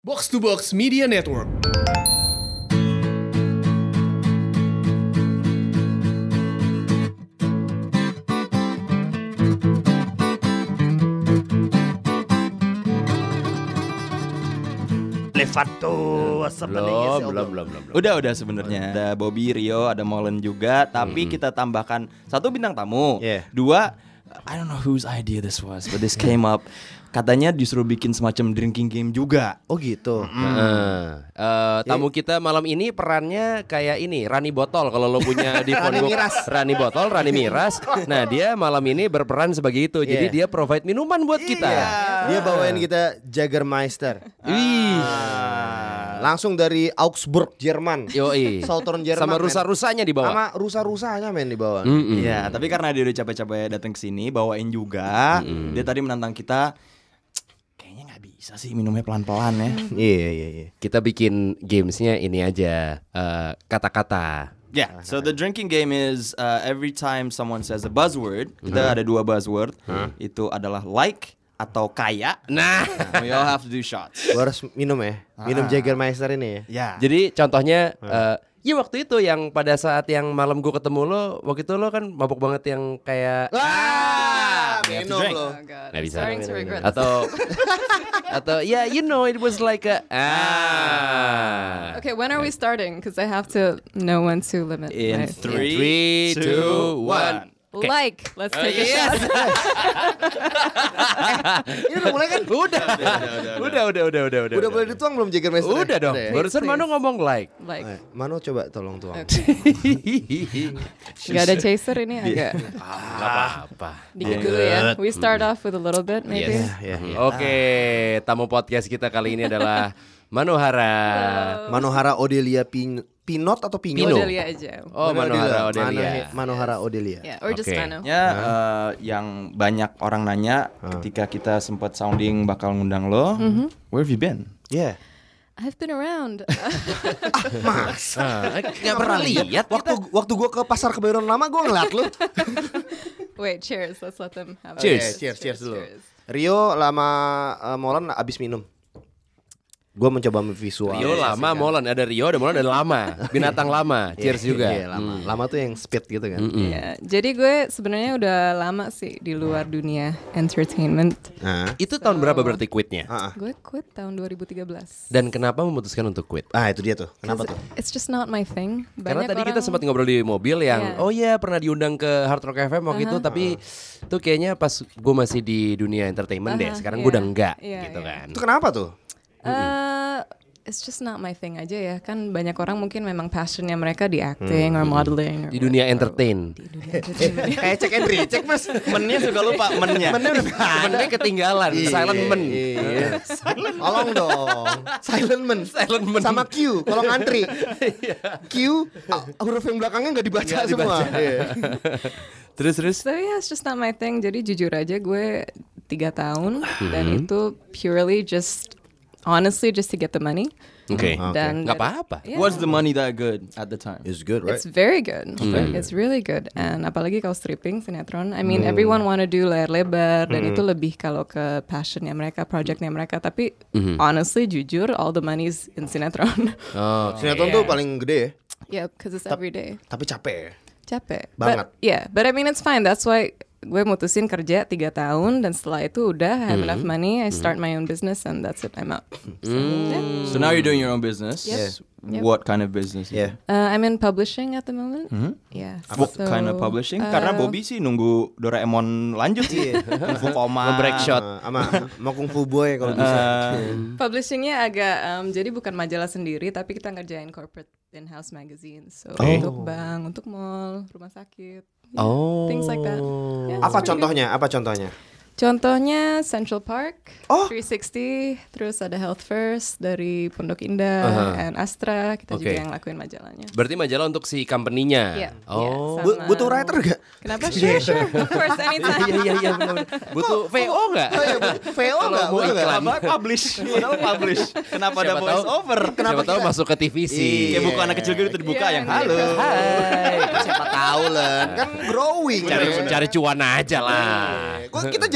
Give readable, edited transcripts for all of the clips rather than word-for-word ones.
Box to Box Media Network. Levato, Belum. Udah sebenarnya. Ada Bobby, Rio, ada Molen juga. Tapi kita tambahkan satu bintang tamu. Yeah. Dua, I don't know whose idea this was, but this came up. Katanya disuruh bikin semacam drinking game juga. Oh gitu. Tamu kita malam ini perannya kayak ini Rani Botol kalau lo punya di phone book Rani Botol, Rani Miras. Nah dia malam ini berperan sebagai itu. Jadi dia provide minuman buat kita. Dia bawain kita Jägermeister. Wih. Langsung dari Augsburg, Jerman. Yoi. Southern Jerman. Sama rusa-rusanya dibawa. Sama rusa-rusanya dibawa. Iya, tapi karena dia udah capek-capek datang ke sini, bawain juga. Dia tadi menantang kita. Kayaknya nggak bisa sih minumnya pelan-pelan ya. Iya. Kita bikin gamesnya ini aja kata-kata. Yeah, so the drinking game is every time someone says a buzzword, kita ada dua buzzword. Itu adalah like atau kaya. Nah, We all have to do shots. Gua harus minum ya. Minum Jägermeister ini ya. Ya. jadi contohnya ya waktu itu yang pada saat yang malam gue ketemu lo, waktu itu lo kan mabuk banget yang kayak Minum drink. lo. Oh God, Nggak I'm bisa. starting to regret this. atau yeah, you know it was like a Okay, when are we starting? Because I have to know when to limit. In my- 3, 2, 1. Like, let's take a yes. shot. Ini udah mulai kan? Udah Udah boleh dituang belum Jägermeister? Udah dong. ya? Barusan Please. Manu ngomong like. Like, Mano coba tolong tuang. nggak ada chaser ini agak Gak apa-apa. dikit dulu ya. We start off with a little bit, maybe. Yes. Ya. Oke, tamu podcast kita kali ini adalah Manohara. Manohara Odelia Pinot atau Pinot? Odelia aja. Oh, Manohara Odelia. Manohara Odelia. Yeah, or just Okay. Mano. Ya, yang banyak orang nanya ketika kita sempat sounding bakal ngundang lo, where have you been? Yeah. I've been around. Gak pernah lihat Waktu gua ke pasar Kebayoran Lama gua ngeliat lu. Wait, cheers. Let's let them have it. Cheers. Cheers dulu. Rio lama Molen abis minum. Gua mencoba visual. Rio lama, Molen ada Rio, ada Molen ada lama. Binatang lama. Cheers juga. Iya, lama. Lama tuh yang speed gitu kan. Iya, jadi gue sebenarnya udah lama sih di luar dunia entertainment. Nah. Itu tahun berapa berarti quitnya? Gue quit tahun 2013. Dan kenapa memutuskan untuk quit? Itu dia tuh. Kenapa tuh? It's just not my thing. Karena Banyak tadi kita orang- sempat ngobrol di mobil yang Iya. oh iya pernah diundang ke Hard Rock FM waktu itu tapi tuh kayaknya pas gue masih di dunia entertainment deh. Sekarang gue udah enggak gitu kan. Itu kenapa tuh? It's just not my thing aja ya. Kan banyak orang mungkin memang passionnya mereka di acting or modeling. Di dunia entertain. Di dunia entertainment. Kayak cek and recheck mas. Mennya suka lupa mennya. Mennya ketinggalan, silent men. Iya. Tolong dong. Silent men. Sama Q kalau ngantri. Q huruf yang belakangnya nggak dibaca semua. Iya. Terus So yeah, it's just not my thing. Jadi jujur aja gue 3 tahun dan itu purely just honestly just to get the money. Oke. Dan Nggak apa-apa. Yeah. Was the money that good at the time? It's good, right? It's very good. It's really good. And apalagi kalau stripping sinetron, I mean everyone wanna do layar lebar dan itu lebih kalau ke passionnya mereka, projectnya mereka. Tapi honestly jujur, all the money's in sinetron. Oh, Sinetron tuh paling gede ya. Yeah, because it's every day. Tapi capek ya. Capek. Banget. But I mean it's fine. That's why gue mutusin kerja 3 tahun dan setelah itu udah I have enough money. I start my own business and that's it. I'm out. So now you're doing your own business. Yep. Yep. What kind of business? Yeah. I'm in publishing at the moment. Yeah. What kind of publishing? Karena Bobby sih nunggu Doraemon lanjut sih. Kung Fu Koma. break shot. Sama mau Kung Fu Boy kalau bisa. Publishingnya agak jadi bukan majalah sendiri tapi kita ngerjain corporate in-house magazine. So Oh. untuk bank, untuk mall, rumah sakit, Oh. things like that. Yeah, Apa it's pretty good. contohnya? Contohnya Central Park, Oh. 360, terus ada Health First dari Pondok Indah, and Astra, kita Oke. juga yang lakuin majalahnya. Berarti majalah untuk si company-nya. Iya, Oh. iya, sama- Butuh writer gak? Kenapa? Sure, of course, anytime. Iya benar. Butuh VO enggak? VO nggak? mau Butuh nggak? iklan. Kenapa publish? Padahal publish. Kenapa ada Siapa voice tahu- over? Siapa tahu masuk ke TVC. Kayak buku anak kecil gitu dibuka Iya, yang yang halo. gitu. Hai. Siapa tahu lah. Kan growing. Cari cuan aja lah. Kok kita jadi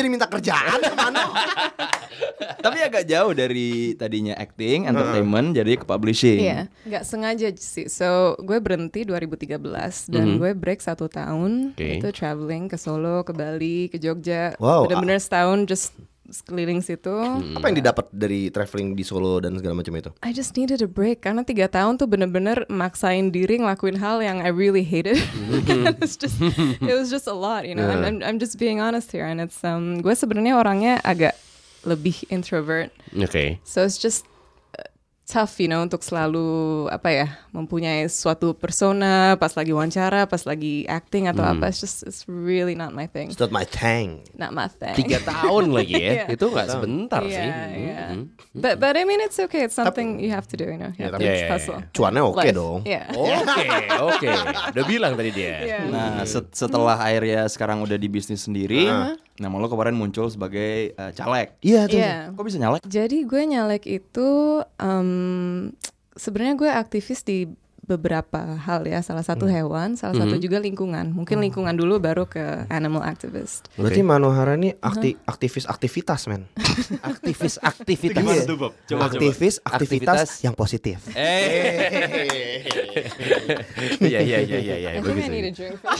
jadi minta kerjaan ke Mano. Tapi agak jauh dari tadinya acting, entertainment jadi ke publishing. Iya, nggak sengaja sih. So gue berhenti 2013 dan gue break 1 tahun. Oke. Itu traveling ke Solo, ke Bali, ke Jogja. Wow. Bener-bener setahun just keliling situ. Apa yang didapat dari traveling di Solo dan segala macam itu? I just needed a break karena 3 tahun tuh bener-bener maksain diri ngelakuin hal yang I really hated. It was just a lot, you know. I'm just being honest here, and it's gue sebenarnya orangnya agak lebih introvert. Oke. So it's just tough, you know, untuk selalu mempunyai suatu persona pas lagi wawancara, pas lagi acting atau apa. It's really not my thing. It's not my thing. Not my thing. 3 tahun lagi ya. Yeah. Itu nggak sebentar sih. Yeah. But I mean it's okay. It's something you have to do, you know. You have to hustle. Cuannya oke Life. dong. Yeah. Oke. Udah bilang tadi dia. Yeah. Nah, setelah akhirnya sekarang udah di bisnis sendiri, nama lo kemarin muncul sebagai caleg. Iya tuh. Yeah. Kok bisa nyalek? Jadi gue nyalek itu sebenarnya gue aktivis di beberapa hal ya. Salah satu hewan, salah satu juga lingkungan. Mungkin lingkungan dulu baru ke animal activist. Berarti Manohara ini aktivis-aktivitas, men. Aktivis-aktivitas. Gimana tuh, Bob? Coba. Aktivitas Aktivitas yang positif. Iya. I think I need a drink for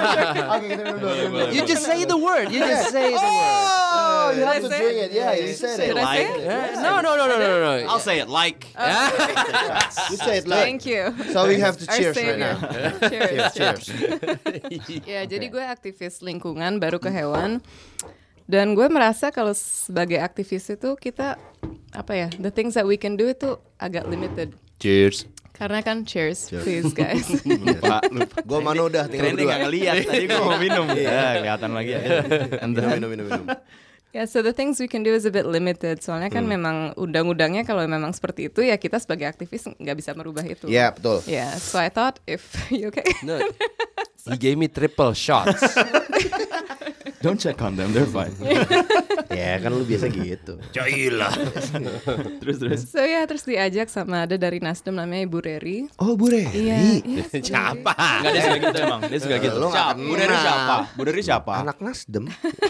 You just say the word. You just say the word. Oh, you have to Did I say drink it. Yeah, you said it. Did I say Like. it? No. I'll say it like. You said like. Thank you. So we have to Our cheers right savior. now. Cheers. Cheers. Ya, jadi gue aktivis lingkungan baru ke hewan. Dan gue merasa kalau sebagai aktivis itu kita the things that we can do itu agak limited. Cheers. Karena kan cheers, please guys. Lupa. Gue Mano udah tinggal Keren berdua. nggak ngeliat. Tadi gue mau minum. Kelihatan lagi ya. Minum. Ya, so the things we can do is a bit limited. Soalnya kan memang undang-undangnya kalau memang seperti itu ya kita sebagai aktivis nggak bisa merubah itu. Iya, betul. Yeah, so I thought if you okay. No. He gave me triple shots. Don't check on them, they're fine. Ya kan lu biasa gitu. Terus. So ya, terus diajak sama ada dari Nasdem namanya Ibu Reri. Oh, Bu Re. Iya. Siapa? Enggak, dia suka gitu emang. Dia suka gitu. Lu nggak Siapa? Bu Dari kenal. siapa? Bu Dari siapa? Anak Nasdem.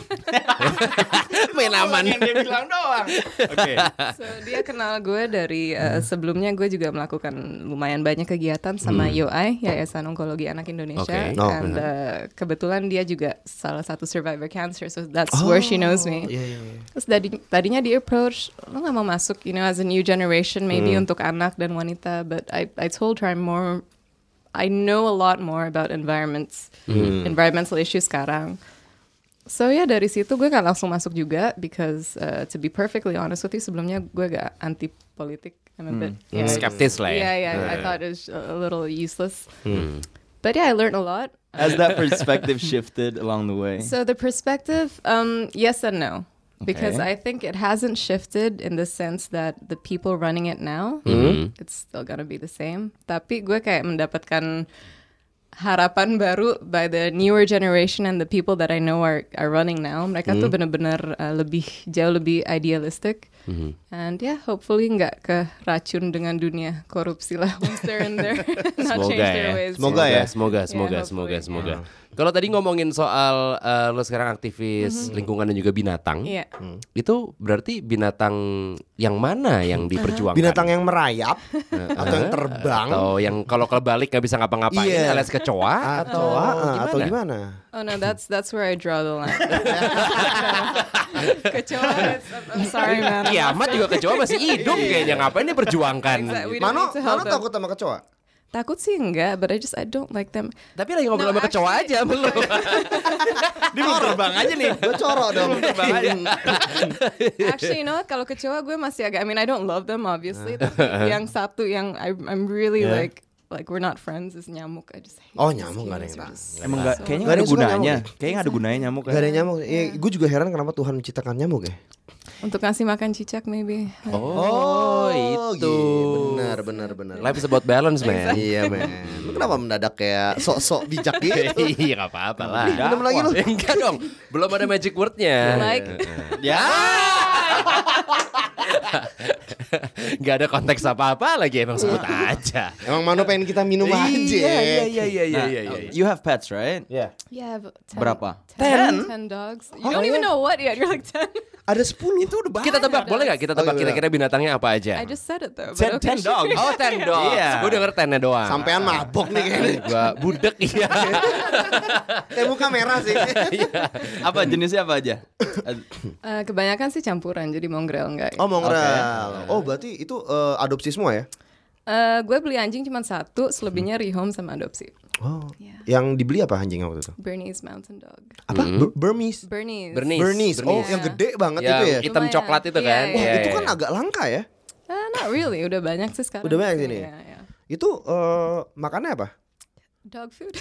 Main aman. Yang dia bilang doang. Oke. So dia kenal gue dari sebelumnya gue juga melakukan lumayan banyak kegiatan sama YOI, Yayasan Onkologi Anak Indonesia. Okay. Oh, And kebetulan dia juga salah satu survivor cancer, so that's where she knows me. Iya. Terus tadinya dia approach, lo gak mau masuk, you know, as a new generation maybe untuk anak dan wanita, but I told her I know a lot more about environmental issues sekarang. So ya dari situ gue gak langsung masuk juga because to be perfectly honest with you, sebelumnya gue gak anti politik. I'm a bit Skeptis lah ya. Yeah, I thought it was a little useless. But yeah, I learned a lot. Has that perspective shifted along the way? So the perspective, yes and no. Because Okay. I think it hasn't shifted in the sense that the people running it now, it's still gonna be the same. Tapi gue kayak mendapatkan harapan baru by the newer generation and the people that I know are running now. Mereka tuh benar-benar jauh lebih idealistic. And yeah, hopefully nggak ke racun dengan dunia korupsi lah once they're in there. Not change their ways. Semoga ya. Semoga. Kalau tadi ngomongin soal lo sekarang aktivis lingkungan dan juga binatang, Iya. itu berarti binatang yang mana yang diperjuangkan? Binatang yang merayap atau yang terbang atau yang kalau kebalik nggak bisa ngapa-ngapain Iya. alias kecoa atau gimana? Oh no, that's where I draw the line. Kecoa, I'm sorry man. Kiamat juga kecoa masih hidup kayaknya, ngapain dia perjuangkan? Exactly. We don't Mano need to help them. takut sama kecoa? Takut sih enggak, but I don't like them. Tapi lagi ngobrol No, sama kecoa actually- aja belum. Dia mau terbang aja nih. Gue corok dong. Actually, you know what? Kalau kecoa gue masih agak. I mean, I don't love them obviously. Tapi yang satu yang I'm really like we're not friends is nyamuk. I just hate Oh, these nyamuk nggak ada humans. yang They're just Emang so- nggak, kayaknya Nggak ada nggak ada yang suka gunanya. nyamuk. Kayaknya nggak ada gunanya nyamuk. Gak ada nyamuk. Gue juga heran kenapa Tuhan menciptakan nyamuk ya. Untuk ngasih makan cicak maybe. Oh, itu. Benar. Life is about balance, man. Iya, men. Lu kenapa mendadak kayak sok-sok bijak gitu? Iya, nggak apa-apa lah. Minum lagi lu. Enggak dong, belum ada magic wordnya. Like Ya. Nggak ada konteks apa-apa lagi, emang sebut aja. Emang Mano pengen kita minum aja. Iya. You have pets, right? Ya. Yeah, but 10, Berapa? 10 dogs. You don't even know what yet. You're like 10. Ada 10. Itu udah Kita tebak boleh nggak? Kita tebak iya. kira-kira binatangnya apa aja? I just said it though. Ten, But okay, ten dogs. Oh, 10 dogs. Iya. Gue denger 10-nya doang. Sampean mabok nih kayaknya. Gua budek iya. Kayak muka merah sih. Apa jenisnya apa aja? kebanyakan sih campuran, jadi mongrel enggak. Oh, mongrel. Oh, berarti itu adopsi semua ya? Gue beli anjing cuma 1, selebihnya rehome sama adopsi. Oh. Yeah. Yang dibeli apa anjing waktu itu? Bernese Mountain Dog. Apa? Burmese. Bernese. Bernese. Oh, yang gede banget itu ya. Hitam Lumayan. coklat itu kan. Iya, iya. Itu kan agak langka ya. Not really, udah banyak sih sekarang. Udah banyak sini. Iya, iya. Itu makannya apa? Dog food.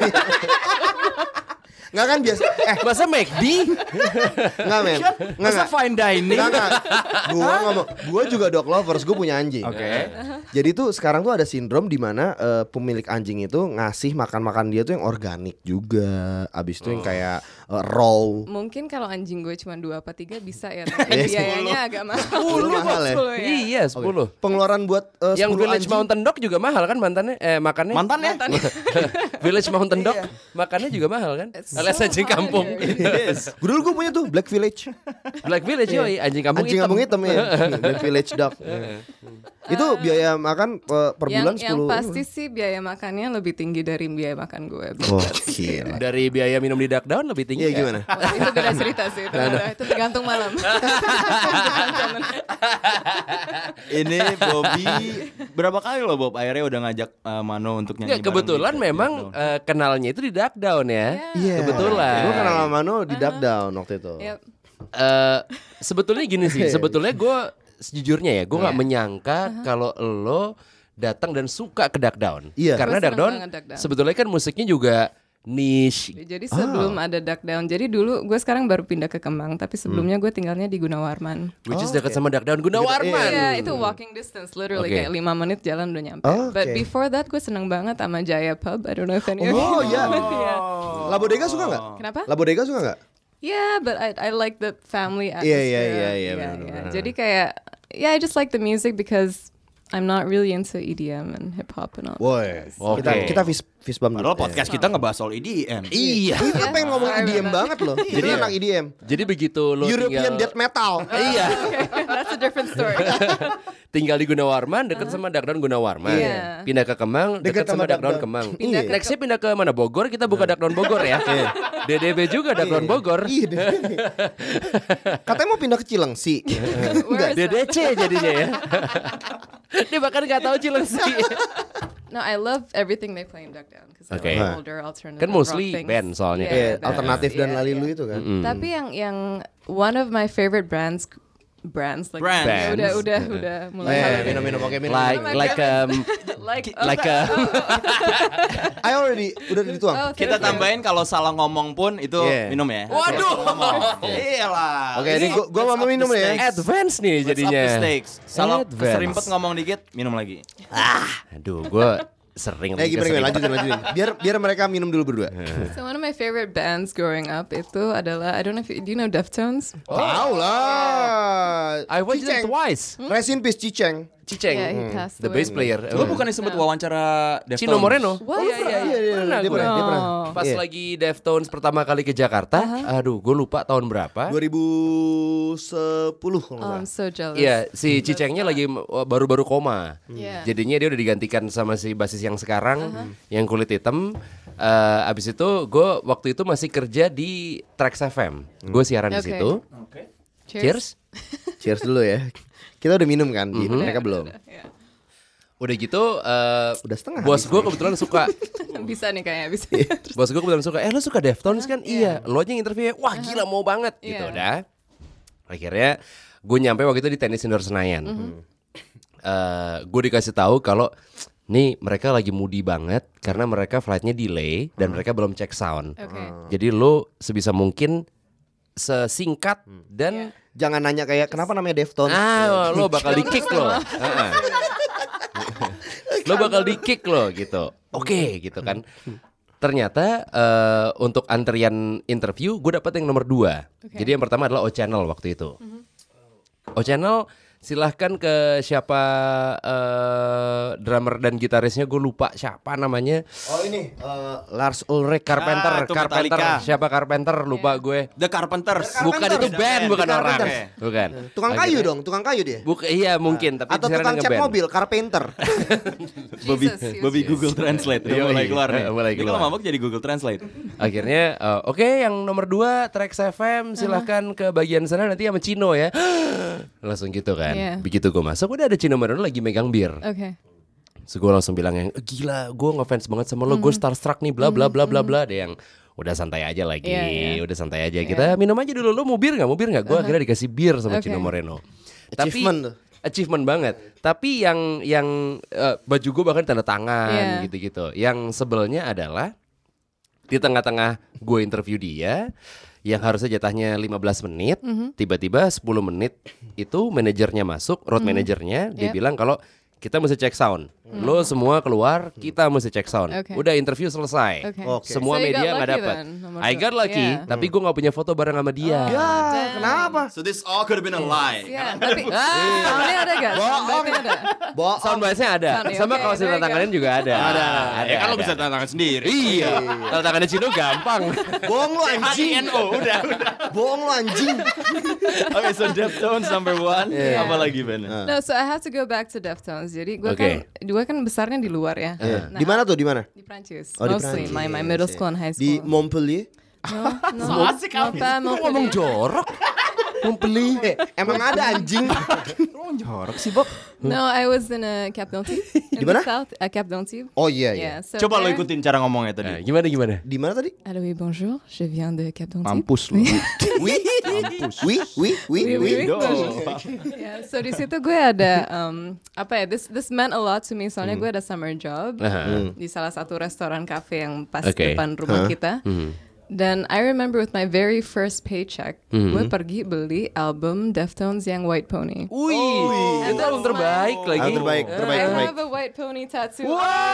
Nggak kan biasa. Masa McD? Nggak men. Masa fine dining? Nggak. Gua juga dog lovers. Gue punya anjing. Oke. Jadi tuh sekarang tuh ada sindrom di mana pemilik anjing itu ngasih makan dia tuh yang organik juga. Abis itu yang kayak raw. Mungkin kalau anjing gue cuma 2 apa 3 bisa ya. Tapi biayanya agak mahal. 10 mahal ya? 10 ya. Iya, 10. Pengeluaran buat 10 Yang Village anjing. Mountain Dog juga mahal kan makannya? Mantannya? Village Mountain Dog makannya juga mahal kan? Alias anjing kampung. Yes. Gue punya tuh Black Village. Black Village yoi, anjing kampung Anjing hitam. kampung hitam ya. Black Village dog. Itu biaya makan per bulan 10. Yang pasti sih biaya makannya lebih tinggi dari biaya makan gue. Oh, gila. Dari biaya minum di Duck Down lebih tinggi. Iya nggak? gimana? Oh, itu beda cerita sih. Itu tergantung malam. Ini Bobby berapa kali loh Bob akhirnya udah ngajak Mano untuk nyanyi. Nggak, kebetulan bareng di memang Duck kenalnya itu di Duck Down ya. Iya. Kebetulan. Gue kenal sama Mano di Duck Down waktu itu. Yep. Sebetulnya gini sih, sebetulnya gue sejujurnya ya, gue nggak menyangka kalau lo datang dan suka ke Duck Down. Iya. Karena Gue Duck seneng Down banget Duck Down. sebetulnya kan musiknya juga niche. Jadi sebelum ada Duck Down. Jadi dulu gue sekarang baru pindah ke Kemang, tapi sebelumnya gue tinggalnya di Gunawarman. Which is dekat sama Duck Down Gunawarman. Iya, itu walking distance, literally Oke. kayak 5 menit jalan udah nyampe. Oh, But oke. before that gue seneng banget sama Jaya Pub. I don't know if any of Oh you iya. know. Yeah. Labodega suka nggak? Kenapa? Labodega suka nggak? Yeah, but I like the family Iya, atmosphere. iya, benar-benar. Jadi kayak, I just like the music because I'm not really into EDM and hip hop and all. Woi. Oke. Kita fist bump. Padahal podcast kita ngebahas soal EDM. Iya. Kita pengen ngomong EDM banget loh. Jadi anak EDM. Jadi begitu lo European tinggal, death metal. iya, That's a different story. tinggal di Gunawarman dekat sama Duck Down Gunawarman. Iya. Pindah ke Kemang Dekat dekat sama sama Duck Down Duck Down. Kemang. Pindah ke- Nextnya pindah ke mana? Bogor, kita buka Duck Down Bogor ya. DDB juga Duck Down Bogor. Iya. Katanya mau pindah ke Cilengsi. Where is that? DDC jadinya ya. Dia bahkan nggak tahu Cilengsi. No, I love everything they play in Duck Down because Okay. they're older alternative Kan mostly rock things. band soalnya. Iya, band. alternatif dan Iya, lalilu iya. itu kan. Tapi yang one of my favorite brands like Brands. Ya, udah mulai hal ini. Minum oke minum. Like like I already udah dituang. Oh, Kita okay. tambahin kalau salah ngomong pun itu Yeah. minum ya. Waduh. Iyalah. Oke, ini gua mau minum ya. Advance nih Let's up the jadinya. stakes. Salah Advance. keserimpet ngomong dikit, minum lagi. Aduh, gue sering Gimana lanjutin. Biar mereka minum dulu berdua. So one of my favorite bands growing up itu adalah, I don't know if do you know Deftones? Tahu lah. I watched them Ciceng. twice. Rest in peace Ciceng. Ciceng, Yeah, he passed the away. bass player. Lu bukan disebut wawancara Deftones? Cino Moreno. What? Iya, Pernah dia gue. pernah. Pas Iya. lagi Deftones pertama kali ke Jakarta, aduh, gue lupa tahun berapa. 2010 kalau Oh, nggak I'm salah. so jealous. Iya, si Cicengnya lagi baru-baru koma. Yeah. Jadinya dia udah digantikan sama si basis yang sekarang, yang kulit hitam. Abis itu gue waktu itu masih kerja di Trax FM. Gue siaran di Oke. situ. Cheers. Cheers. Cheers dulu ya. Kita udah minum kan, mereka belum. Yeah. Udah gitu, Udah setengah bos habis. gue kebetulan suka. Bisa nih kayaknya bisa. Bos gue kebetulan suka. Lo suka Deftones kan? Iya. Lo aja yang interview. Wah gila mau banget gitu. Iya. Udah. Akhirnya gue nyampe waktu itu di tenis indoor Senayan. Gue dikasih tahu kalau nih mereka lagi moody banget karena mereka flightnya delay dan mereka belum cek sound. Oke. Jadi lo sebisa mungkin sesingkat dan Jangan nanya kayak kenapa namanya Deftones. lo bakal di kick lo. Lo bakal di kick lo gitu. Oke gitu kan. Ternyata untuk antrian interview gue dapet yang nomor 2. Jadi yang pertama adalah O Channel waktu itu. O Channel silahkan ke siapa drummer dan gitarisnya, gue lupa siapa namanya. Oh ini Lars Ulrich Carpenter. itu Metallica. Siapa Carpenter? Lupa gue. The Carpenters. Bukan, itu band, bukan orang. Bukan. Tukang kayu dong, tukang kayu dia. Iya mungkin, tapi Atau sekarang tukang cat ngeband. mobil, carpenter. Bobby Google Translate udah mulai keluar nih. mulai Ini keluar. kalau mabok jadi Google Translate. Akhirnya oke, yang nomor 2 Trax FM, silahkan ke bagian sana nanti sama Cino ya. Langsung gitu kan. Iya. Begitu gue masuk udah ada Cino Marino lagi megang bir. Okay. So gue langsung bilang yang gila, gue ngefans banget sama lo, gue starstruck nih, bla bla bla bla bla. Ada yang udah santai aja lagi, udah santai aja. Kita minum aja dulu. Lo mau bir nggak? Mau bir nggak? Gue akhirnya dikasih bir sama Cino Moreno. Achievement tuh. Achievement banget. Tapi yang baju gue bahkan tanda tangan gitu-gitu. Yang sebelnya adalah di tengah-tengah gue interview dia, yang harusnya jatahnya 15 menit, tiba-tiba 10 menit itu manajernya masuk, road manajernya, dia bilang kalau kita mesti cek sound. Lo semua keluar, kita mesti cek sound. Udah interview selesai. Semua So you media got nggak lucky dapat. then, nomor I got dua. lucky, tapi gue nggak punya foto bareng sama dia. Kenapa? So this all could have been a lie. Yeah, tapi soundnya ada gak? Soundbite-nya ada. Bohong. Sound bias-nya ada, Sound, sama okay, kaos there you tanda tangannya go. juga ada. Ya kan lo bisa tanda tangan sendiri. Iya, tanda tangannya Cino gampang. Bohong lu anjing. udah. Bohong lu anjing. Oke, so Deftones number 1. Apa lagi Ben? No, so I have to go back to Deftones. Jadi gue kan besarnya di luar ya. Nah, Di mana tuh? Di mana? Di Prancis. Oh, di Mostly Prancis. my middle school and high Di school. Montpellier. No, asik no, pas Kok ngomong jorok? Montpellier. Emang ada anjing. Jorok sih, Bob. No, I was in a Cap d'Antibes. In Di mana? the South, a Cap d'Antibes. Oh iya iya. Yeah, so Coba lo there- ikutin cara ngomongnya tadi. Gimana? Di mana tadi? Allô, oui, bonjour. Je viens de Cap d'Antibes. Mampus lo. Oui. Oui. Oui. Oui. Oui. Yeah, so di situ gue ada this meant a lot to me soalnya gue ada summer job di salah satu restoran cafe yang pas depan rumah kita. Dan I remember with my very first paycheck, gue pergi beli album Deftones yang White Pony. Wih, itu album terbaik lagi. Terbaik. I have a White Pony tattoo.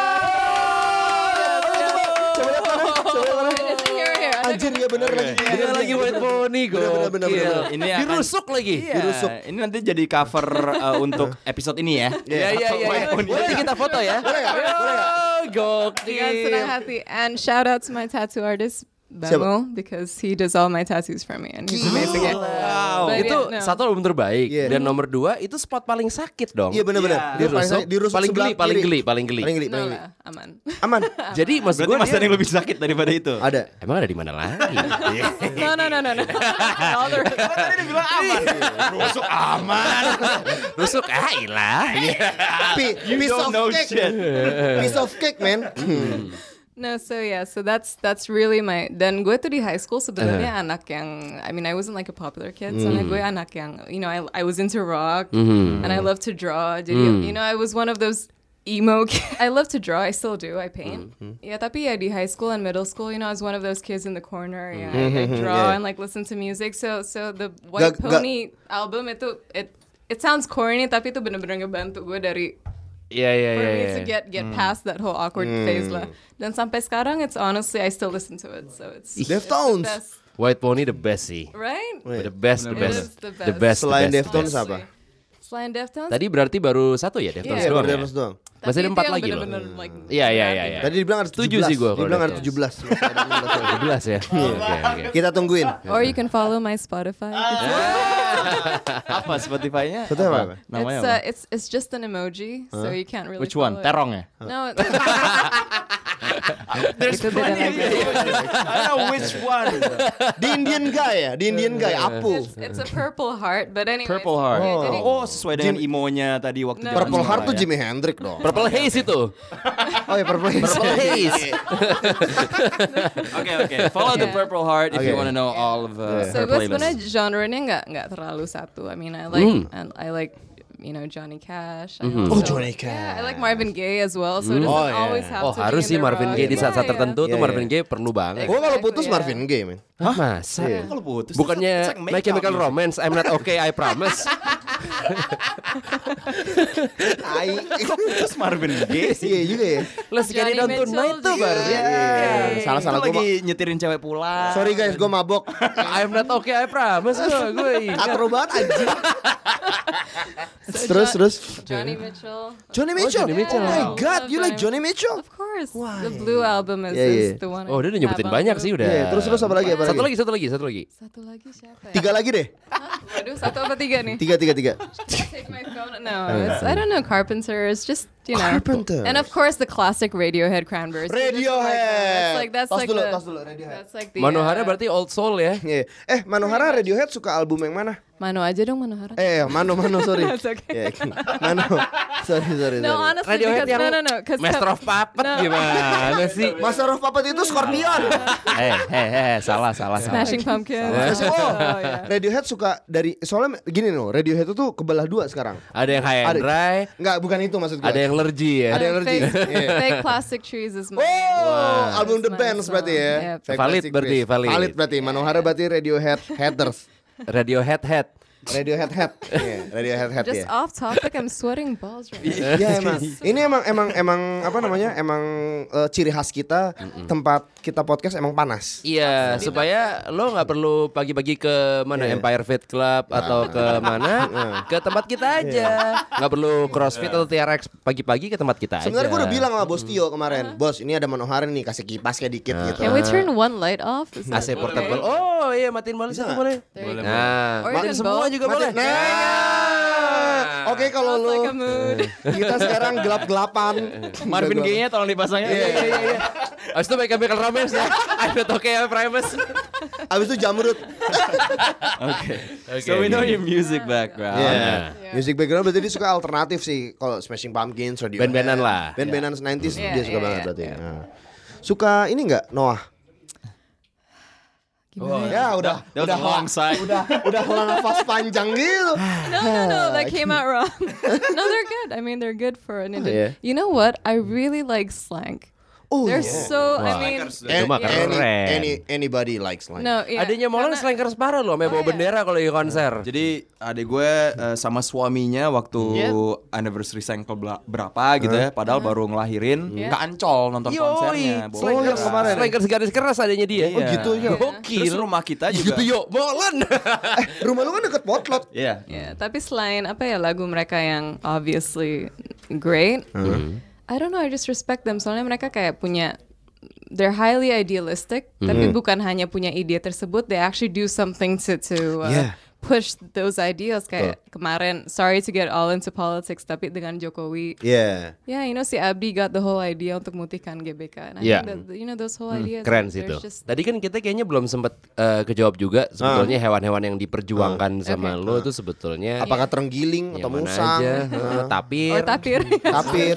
It's here. Anjir ya bener lagi. Bener lagi White Pony, Bener. Ini akan dirusuk lagi. Iya, ini nanti jadi cover untuk episode ini ya. Iya. Boleh kita foto ya? Boleh nggak? Gokil. Dengan senang hati. And shout out to my tattoo artist, Bamo, because he does all my tattoos for me and he's amazing. Wow. But Itu yeah, no. satu album terbaik. Iya. Dan nomor 2 itu spot paling sakit dong. Iya bener-bener. Dia dirusuk paling sebelah geli, kiri. paling geli. No lah, aman. Aman. Jadi maksud Berarti gue masih ada yang lebih sakit daripada itu. Ada. emang ada di mana lagi? No. All the Tadi dia bilang aman. Rusuk aman. Rusuk ilah. You don't know shit. Piece of cake, man. No, so that's really my. Dan gue tuh di high school sebenarnya anak yang, I mean I wasn't like a popular kid, soalnya gue anak yang, you know, I was into rock and I love to draw. Jadi you know I was one of those emo kids. I love to draw, I still do, I paint. Yeah, tapi ya di high school and middle school, you know, I was one of those kids in the corner. Yeah, I like draw and like listen to music. So the White Pony album it sounds corny, tapi itu bener-bener ngebantu gue dari. Iya. For me to get past that whole awkward phase lah. Dan sampai sekarang, it's honestly I still listen to it, so it's Deftones. the best, White Pony the best sih. right? The best. It is the The best. Selain the best. Deftones apa? Selain Deftones, Tadi berarti baru satu ya Deftones Iya, doang Baru ya? Deftones doang. Masih ada tapi 4 itu yang lagi loh. bener-bener, like, Iya. Tadi dibilang ada 17. Setuju sih gua kalau Dibilang ada Deftones. 17. Masih ada 16 lagi. 12 ya. Oke. Kita tungguin. Or you can follow my Spotify. Apa Spotify-nya? Itu apa? Namanya apa? It's just an emoji, so you can't really. Which one? follow it. Terong ya? No. There's Itu beda lagi. I know which one. Di Indian guy ya? Di Indian guy, Apu. It's a purple heart, but anyway. Purple Heart. Okay, jadi- Oh, sesuai dengan imonya tadi waktu No. zaman Purple Heart sekolah tuh ya. Jimi Hendrix dong. Purple Haze itu. Oh ya Purple Haze. Purple Haze. Okay. Follow the Yeah. Purple Heart if you Okay. want to know all of So her gue sebenarnya playlist. genre-nya nggak terlalu satu. I mean, I like you know Johnny Cash. I Oh, also- Johnny Yeah, I Cash. like Marvin Gaye as well. So it doesn't Oh, yeah. always have Oh to harus be sih in the Marvin rock. Gaye di saat-saat Yeah, tertentu Iya, tuh iya. Marvin Gaye perlu banget. Gue kalau putus Exactly, Marvin Gaye, men. Masa? Kalau putus. Bukannya it's like My Chemical makeup. Romance, I'm Not Okay, I Promise. Tai. Terus Marvin Gaye sih. Iya juga ya. Let's get it Johnny on tonight Mitchell tuh baru. Iya. Salah-salah Itu gue. lagi nyetirin cewek pulang. Sorry guys, gue mabok. I'm not okay, I promise gue ingat. Katro banget anjing. Terus. Johnny Mitchell. Johnny Mitchell. Johnny Mitchell. Oh my god, you like Love Johnny Mitchell? Of course. The Blue album is, Yeah, yeah. is the one. Oh, dia udah nyebutin Abang banyak tuh. sih udah. Iya, terus apa lagi? Satu lagi. Satu lagi siapa ya? 3 lagi deh. Waduh, satu apa tiga nih? 3. Take my phone. No, it's, I don't know. Carpenters, just you know. Carpenters. And of course the classic Radiohead Cranberries. Radiohead. That's like tos dulu Radiohead. That's like the. Manohara berarti old soul ya. Iya. Manohara Radiohead suka album yang mana? Mano aja dong Manohara. Mano sorry. That's okay. Iya, Mano. Sorry. No, honestly, Radiohead because yang no, because Master of Puppet No. gimana sih? Master of Puppet itu Scorpion. Salah. Smashing Pumpkins. Yeah. Radiohead suka dari soalnya gini loh, Radiohead itu kebelah 2 sekarang. Ada yang high and dry, Enggak, bukan itu maksud gue. ada yang lergy ya. Ada yang allergy. Fake, Iya. fake Plastic Trees is my. Album The my Bands song. berarti ya. Yeah. Fake Valid Plastic berarti, Trees. valid. Valid berarti. Manohara berarti Radiohead Headers. Radiohead head. Radiohead Head. Iya, Radiohead Head Just ya. off topic, I'm sweating balls right now. Iya emang. Ini emang apa namanya? Emang ciri khas kita tempat kita podcast emang panas. Iya, supaya lo nggak perlu pagi-pagi ke mana Empire Fit Club atau ke mana, ke tempat kita aja. Nggak perlu CrossFit atau TRX pagi-pagi ke tempat kita aja. Sebenarnya gue udah bilang sama Bos Tio kemarin, Bos ini ada Manohara nih, kasih kipasnya dikit gitu. Can we turn one light off? Is that AC portable. okay? Oh iya, matiin boleh satu boleh. Boleh. Nah, Or matiin even semua both. juga boleh. Oke kalau Sounds lu like a mood. kita sekarang gelap-gelapan. Marvin Gaye-nya tolong dipasangnya. Iya. Abis itu Michael Ramirez ya. I'm not okay, I promise. Abis itu Jamrut. Okay. So we know your music background. Iya. Music background berarti dia suka alternatif sih. Kalau Smashing Pumpkins, Radiohead. Band-bandan lah. Band-bandan 90s Iya, dia suka iya, banget iya. berarti. Nah. Suka ini enggak Noah? Ya udah long side. udah helah nafas panjang gitu. No, that came out wrong. No, they're good. I mean, they're good for an yeah. You know what? I really like slang. Oh, They're yeah. so. I mean, Itu mah keren. Anybody likes like. no. Yeah, Adanya Molan karena- slankers parah loh, sampai bawa bendera kalau lagi konser. Jadi adik gue sama suaminya waktu anniversary cycle berapa gitu ya, padahal baru ngelahirin, ke Ancol nonton konsernya. Bawa Slankers bendera. kemarin. Slankers garis keras adanya dia. Iya. gitu ya. Terus rumah kita juga. Gitu yuk, Molan. Rumah lu kan deket Potlot. Iya. Yeah, tapi selain apa ya lagu mereka yang obviously great, I don't know, I just respect them. Soalnya mereka kayak punya, they're highly idealistic, tapi bukan hanya punya ide tersebut, they actually do something to Yeah. push those ideas. Kayak kemarin, sorry to get all into politics, tapi dengan Jokowi, Yeah. yeah, you know si Abdi got the whole idea untuk memutihkan GBK. And I Yeah. think that, you know, those whole ideas. Keren sih they're itu. just- Tadi kan kita kayaknya belum sempat kejawab juga sebetulnya hewan-hewan yang diperjuangkan sama lo itu sebetulnya Apakah terenggiling yang atau mana musang? aja? Tapir. Or tapir. Tapir.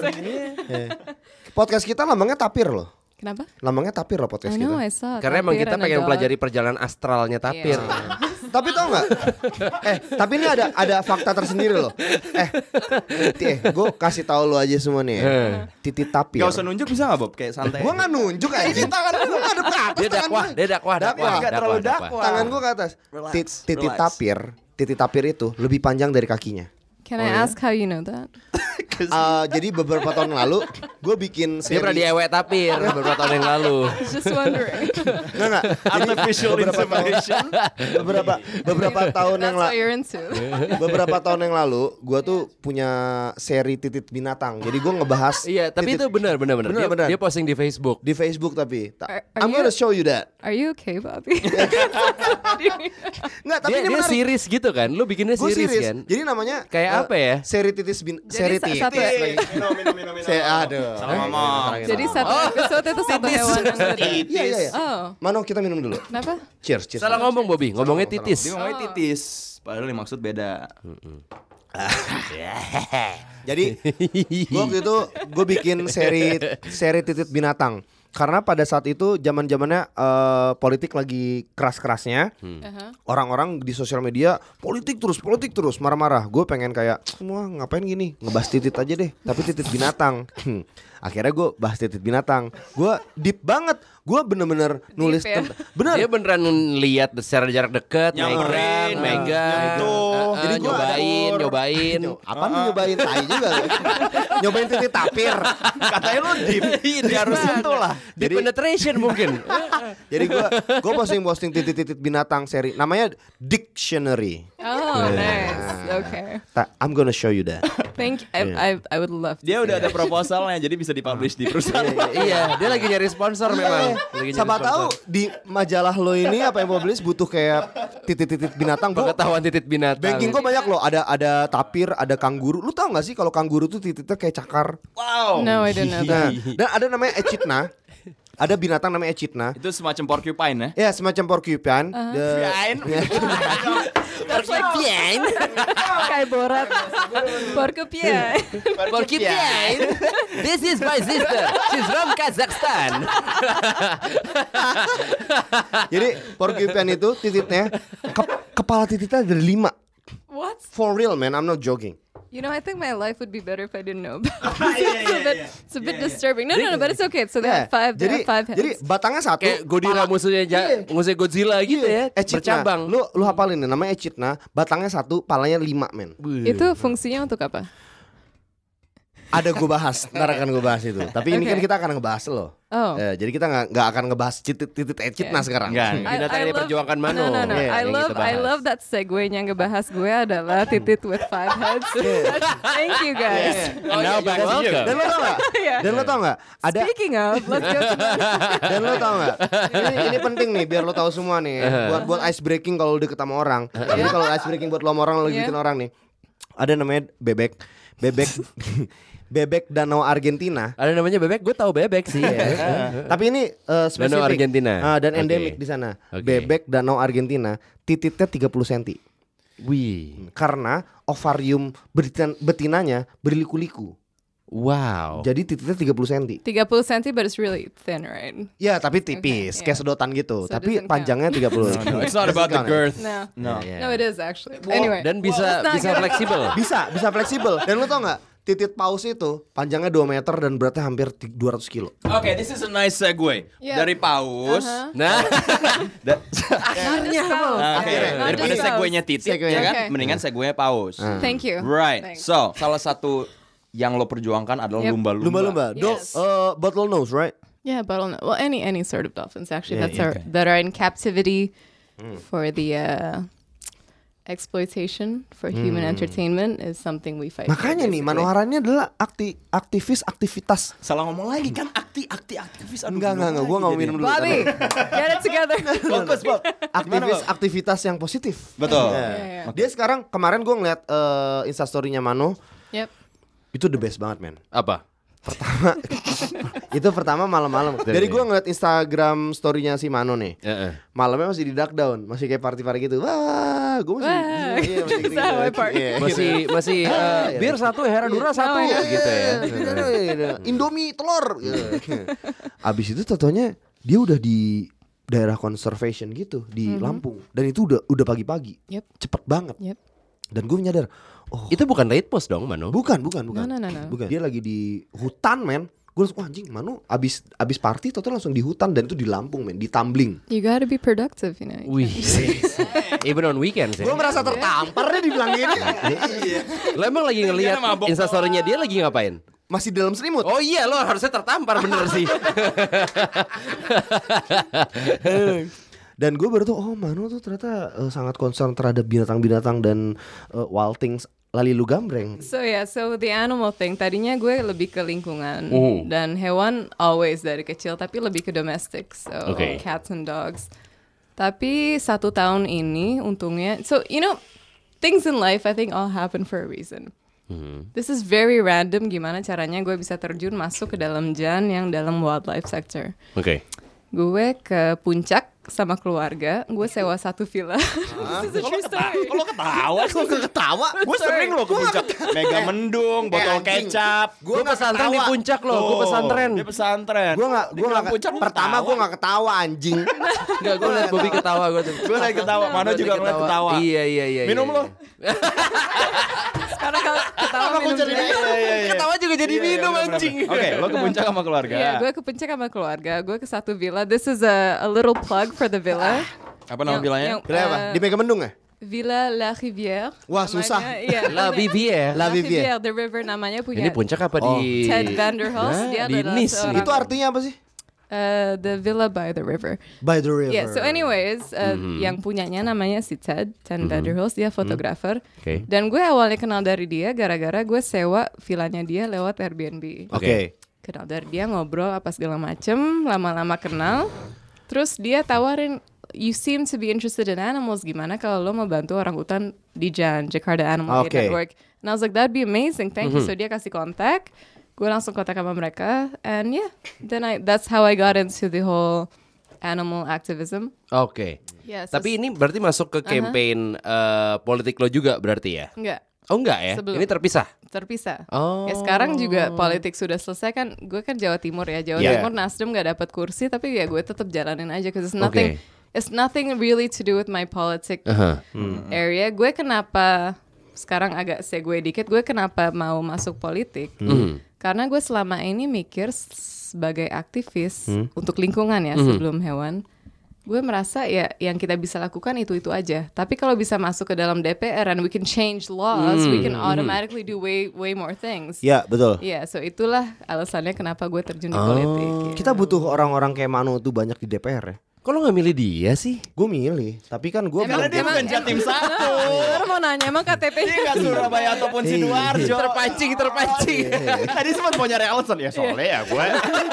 Podcast kita lambangnya tapir loh. Kenapa? Lambangnya tapir loh podcast I know, kita. I saw. Karena emang tapir kita and a pengen dog. pelajari perjalanan astralnya tapir. Iya. Tapi tau nggak? Tapi ini ada fakta tersendiri loh. Gue kasih tahu lo aja semua nih. Titit tapir. Gak usah nunjuk bisa gak Bob? Kayak santai. Gue nggak nunjuk aja. Tangan gue nggak ada ke atas. Dia dakwah, dia dakwah. Nggak terlalu dakwah. Tangan gue ke atas. Relax, Titit relax. tapir. Titit tapir itu lebih panjang dari kakinya. Can I ask how you know that? Jadi beberapa tahun lalu gue bikin Dia pernah seri. diewek tapir beberapa tahun yang lalu. Just wondering. Nggak. Artificial insemination. Beberapa tahun yang That's what lalu. you're into. Beberapa tahun yang lalu, gue tuh punya seri titit binatang. Jadi gue ngebahas. Iya, tapi titit- itu benar. Benar. Dia posting di Facebook. di Facebook tapi. Are I'm you- gonna show you that. Are you okay, Bobby? Nggak, tapi Dia ini menarik. series gitu kan? Lu bikinnya Gue series series. kan? Jadi namanya Kayak apa ya? Seri titis seri titis. satu- Minum. Aduh. Salah ngomong. Jadi satu episode itu satu hewan yang beda. Iya. Oh, Mano kita minum dulu. kenapa? Cheers. Salah ngomong Bobby, ngomongnya titis. Dia ngomongnya titis. Padahal yang maksud beda. Jadi gua waktu itu gue bikin seri titit binatang. Karena pada saat itu zaman-zamannya politik lagi keras-kerasnya. Orang-orang di sosial media politik terus marah-marah. Gue pengen kayak semua ngapain gini, ngebahas titit aja deh, tapi titit binatang. Akhirnya gue bahas titit binatang. Gue deep banget. Gue bener-bener nulis ya? bener. Dia beneran lihat secara jarak dekat, Nyamperin, megang, Jadi gua nyobain. Apa nih nyobain tai juga lu. Nyobain titit tapir. Katanya lu deep. Dia harus sentuh lah. Di penetration mungkin. Jadi gue posting titit binatang seri namanya Dictionary. Oh, nice. Okay. I'm gonna show you that. Thank you. I would love to. Dia udah ada proposalnya, jadi bisa dipublish di perusahaan. Iya, dia lagi nyari sponsor memang. Lagi nyari Siapa sponsor. tahu di majalah lo ini apa yang publish butuh kayak titit-titit binatang. Pengetahuan titit binatang. Banking gue banyak loh. Ada tapir, ada kanguru. Lu tau gak sih kalau kanguru tuh tititnya kayak cakar? Wow. No, I don't know Nah, that. dan ada namanya echidna. Ada binatang namanya echidna. Itu semacam porcupine ya? Ya semacam porcupine. Porcupine. Kayak Borat. Porcupine. Porcupine. This is my sister. She's from Kazakhstan. Jadi porcupine itu tititnya kepala tititnya ada 5. What? For real man, I'm not joking. You know, I think my life would be better if I didn't know about it. It's a bit disturbing. No, but it's okay. So they have five. They have 5 heads. Jadi batangnya satu. Kayak Godira musuhnya Godzilla gitu ya. Bercabang. Lu hafalin nih, namanya echidna. Batangnya satu, palanya 5 men. Itu fungsinya untuk apa? Ada gue bahas, ntar akan gue bahas itu. Tapi ini kan Okay. kita akan ngebahas lo. Oh. Jadi kita nggak akan ngebahas titit echidna sekarang. Enggak. Binatang yang diperjuangkan Mano. No. Yeah, I yang kita love bahas. that segue yang ngebahas gue adalah titit with 5 heads. Thank you guys. Now back to you. Dan lo tau nggak? Yeah. Dan lo tau nggak? Ada. Speaking of, let's go to Dan lo tau nggak? Ini penting nih, biar lo tahu semua nih. Buat ice breaking kalau deket sama orang. Jadi kalau ice breaking buat lo sama orang, lo Yeah. bikin orang nih. Ada namanya bebek. Bebek danau Argentina. Ada namanya bebek, gue tahu bebek sih. Tapi ini spesifik. Danau Argentina. Dan Oke. endemik di sana. Oke. Bebek danau Argentina, tititnya 30 cm. Wih, Karena ovarium betinanya berliku-liku. wow. Jadi tititnya 30 cm. 30 cm, but it's really thin, right? Ya, tapi tipis, Okay, kayak yeah. sedotan gitu. So it tapi doesn't panjangnya 30. No, it's not about the girth. No. No. No, it is actually. Anyway. Dan bisa Well, it's not good. fleksibel. Bisa fleksibel. Dan lo tau nggak? Titit paus itu panjangnya 2 meter dan beratnya hampir 200 kilo. Oke, this is a nice segue. Yeah. Dari paus. Nah, Akhirnya Daripada seguenya titit Seguenya. ya kan, Okay. mendingan seguenya paus. Thank you. Right. Thanks. So, salah satu yang lo perjuangkan adalah Yep. Lumba-lumba. Yes. Bottlenose, right? Yeah, bottleneck. Well, any sort of dolphins actually Yeah, that are in captivity for the exploitation for human entertainment is something we fight. for, Makanya nih, basically. Manohara ini adalah aktivitas. Salah ngomong lagi kan aktivis. Aduh, Enggak, gimana gua nggak lagi mau minum jadinya? dulu. Bobby, get it together. Fokus, Bob. Aktivitas yang positif. Betul. Yeah. Dia sekarang kemarin gue ngeliat instastorynya Mano, Yep. itu the best banget men. apa? Itu pertama malam-malam. Dari gue ngeliat Instagram storynya si Mano nih. Malamnya masih di duck down, masih kayak party gitu. Wah, gue masih. Wah, iya, masih that's how I party. Iya, Masih bir satu, Heradura satu gitu ya. Indomie telur. Gitu. Abis itu totonya dia udah di daerah conservation gitu di Lampung, dan itu udah pagi-pagi. Yep. Cepet banget. Yep. Dan gue menyadar, oh Itu bukan late post dong, Mano? bukan. No. Bukan. Dia lagi di hutan men. Gue langsung, wah anjing, Manu abis party total langsung di hutan, dan itu di Lampung men, di Tumbling. You gotta be productive, you know. Wih, even on weekends ya. Gue merasa tertampar deh dibilang gini. Lo emang lagi ngeliat Dia mabok. instastorynya dia lagi ngapain? Masih dalam selimut. Oh iya, lo harusnya tertampar bener sih. Dan gue baru tuh, oh Manu tuh ternyata sangat concern terhadap binatang-binatang dan wild things. Lalilu gambreng. So the animal thing. Tadinya gue lebih ke lingkungan dan hewan always dari kecil, tapi lebih ke domestic. So Okay. cats and dogs. Tapi 1 tahun ini untungnya, so you know, things in life I think all happen for a reason. This is very random gimana caranya gue bisa terjun masuk ke dalam Jan yang dalam wildlife sector. Oke. Gue ke puncak sama keluarga, gue sewa satu villa. This is a true story. Kalau ketawa, gue sering loh ke puncak. Mega Mendung, botol kecap. Gue pesantren di puncak loh, gue pesantren. Dia pesantren. Gue nggak puncak. pertama gue nggak ketawa anjing. Enggak, gue liat Bobby ketawa gue tuh. Gue lagi ketawa, Mano juga ngeliat ketawa. Iya. Minum lo. Sekarang kalau ketawa minum juga. Ketawa juga jadi minum anjing. Oke, lo ke puncak sama keluarga. Iya, gue ke puncak sama keluarga. Gue ke satu villa. This is a little plug for the villa. Apa nama villanya? Villa apa? Di Mega Mendung ya? Villa La Rivière. Wah, Namanya, susah. Iya. La Vivier. La Vivier. The river namanya punya Ini puncak apa di Ted Vanderhulst. Dia di adalah Nice. seorang- Itu artinya apa sih? The villa by the river. By the river. Yeah, so anyways, yang punyanya namanya si Ted Vanderhulst, dia fotografer. Oke. Dan gue awalnya kenal dari dia gara-gara gue sewa villanya dia lewat Airbnb. Oke. Kenal dari dia, ngobrol apa segala macem, lama-lama kenal. Terus dia tawarin, you seem to be interested in animals, gimana kalau lo mau bantu orang hutan di JAN, Jakarta Animal Aid Oke. Network. And I was like, that'd be amazing, thank you. So dia kasih kontak, gue langsung kontak sama mereka, and yeah, then that's how I got into the whole animal activism. Oke. Yeah, so Tapi ini berarti masuk ke campaign politik lo juga berarti ya? enggak, Oh enggak ya? Sebelum. Ini terpisah? terpisah. Oh. Ya sekarang juga politik sudah selesai kan, gue kan Jawa Timur ya, Jawa Yeah. Timur Nasdem gak dapat kursi, tapi ya gue tetap jalanin aja, cause it's nothing really to do with my politic area. Gue kenapa sekarang agak segue dikit, gue kenapa mau masuk politik? Karena gue selama ini mikir sebagai aktivis untuk lingkungan ya sebelum hewan. Gue merasa ya yang kita bisa lakukan itu aja. Tapi kalau bisa masuk ke dalam DPR and we can change laws, we can automatically do way more things. Ya, betul. Iya, so itulah alasannya kenapa gue terjun di politik. gitu. Kita butuh orang-orang kayak Manu tuh banyak di DPR ya. Kok lo gak milih dia sih? Gue milih, tapi kan gue Karena dia bukan Jatim 1. Baru mau nanya, emang KTP-nya Dia nggak Surabaya ataupun Sidoarjo. Terpancing. Tadi sempat mau nyari alasan ya soalnya ya gue.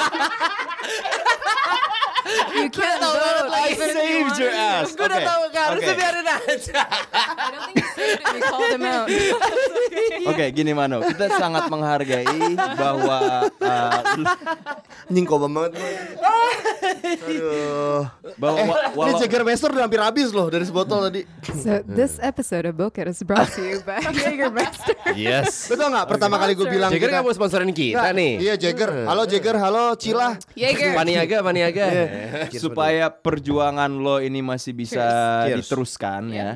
you can't vote. I saved your ass. Gue udah Oke. tahu kan, harusnya Oke. biarin aja. I don't think you saved it, we called him out. Oke, gini Mano, kita sangat menghargai bahwa nyingkobam banget gue. Aduh. bahwa Ini Jägermeister udah hampir habis loh dari sebotol tadi. So this episode of Boker is brought to you by Jägermeister. Yes. Betul nggak? Pertama kali gue bilang Jagger kita- gak mau sponsorin kita Nggak, nih. Iya Jagger. Halo Jagger, halo Cila. Jäger. Paniaga. supaya perjuangan lo ini masih bisa Cheers. diteruskan ya.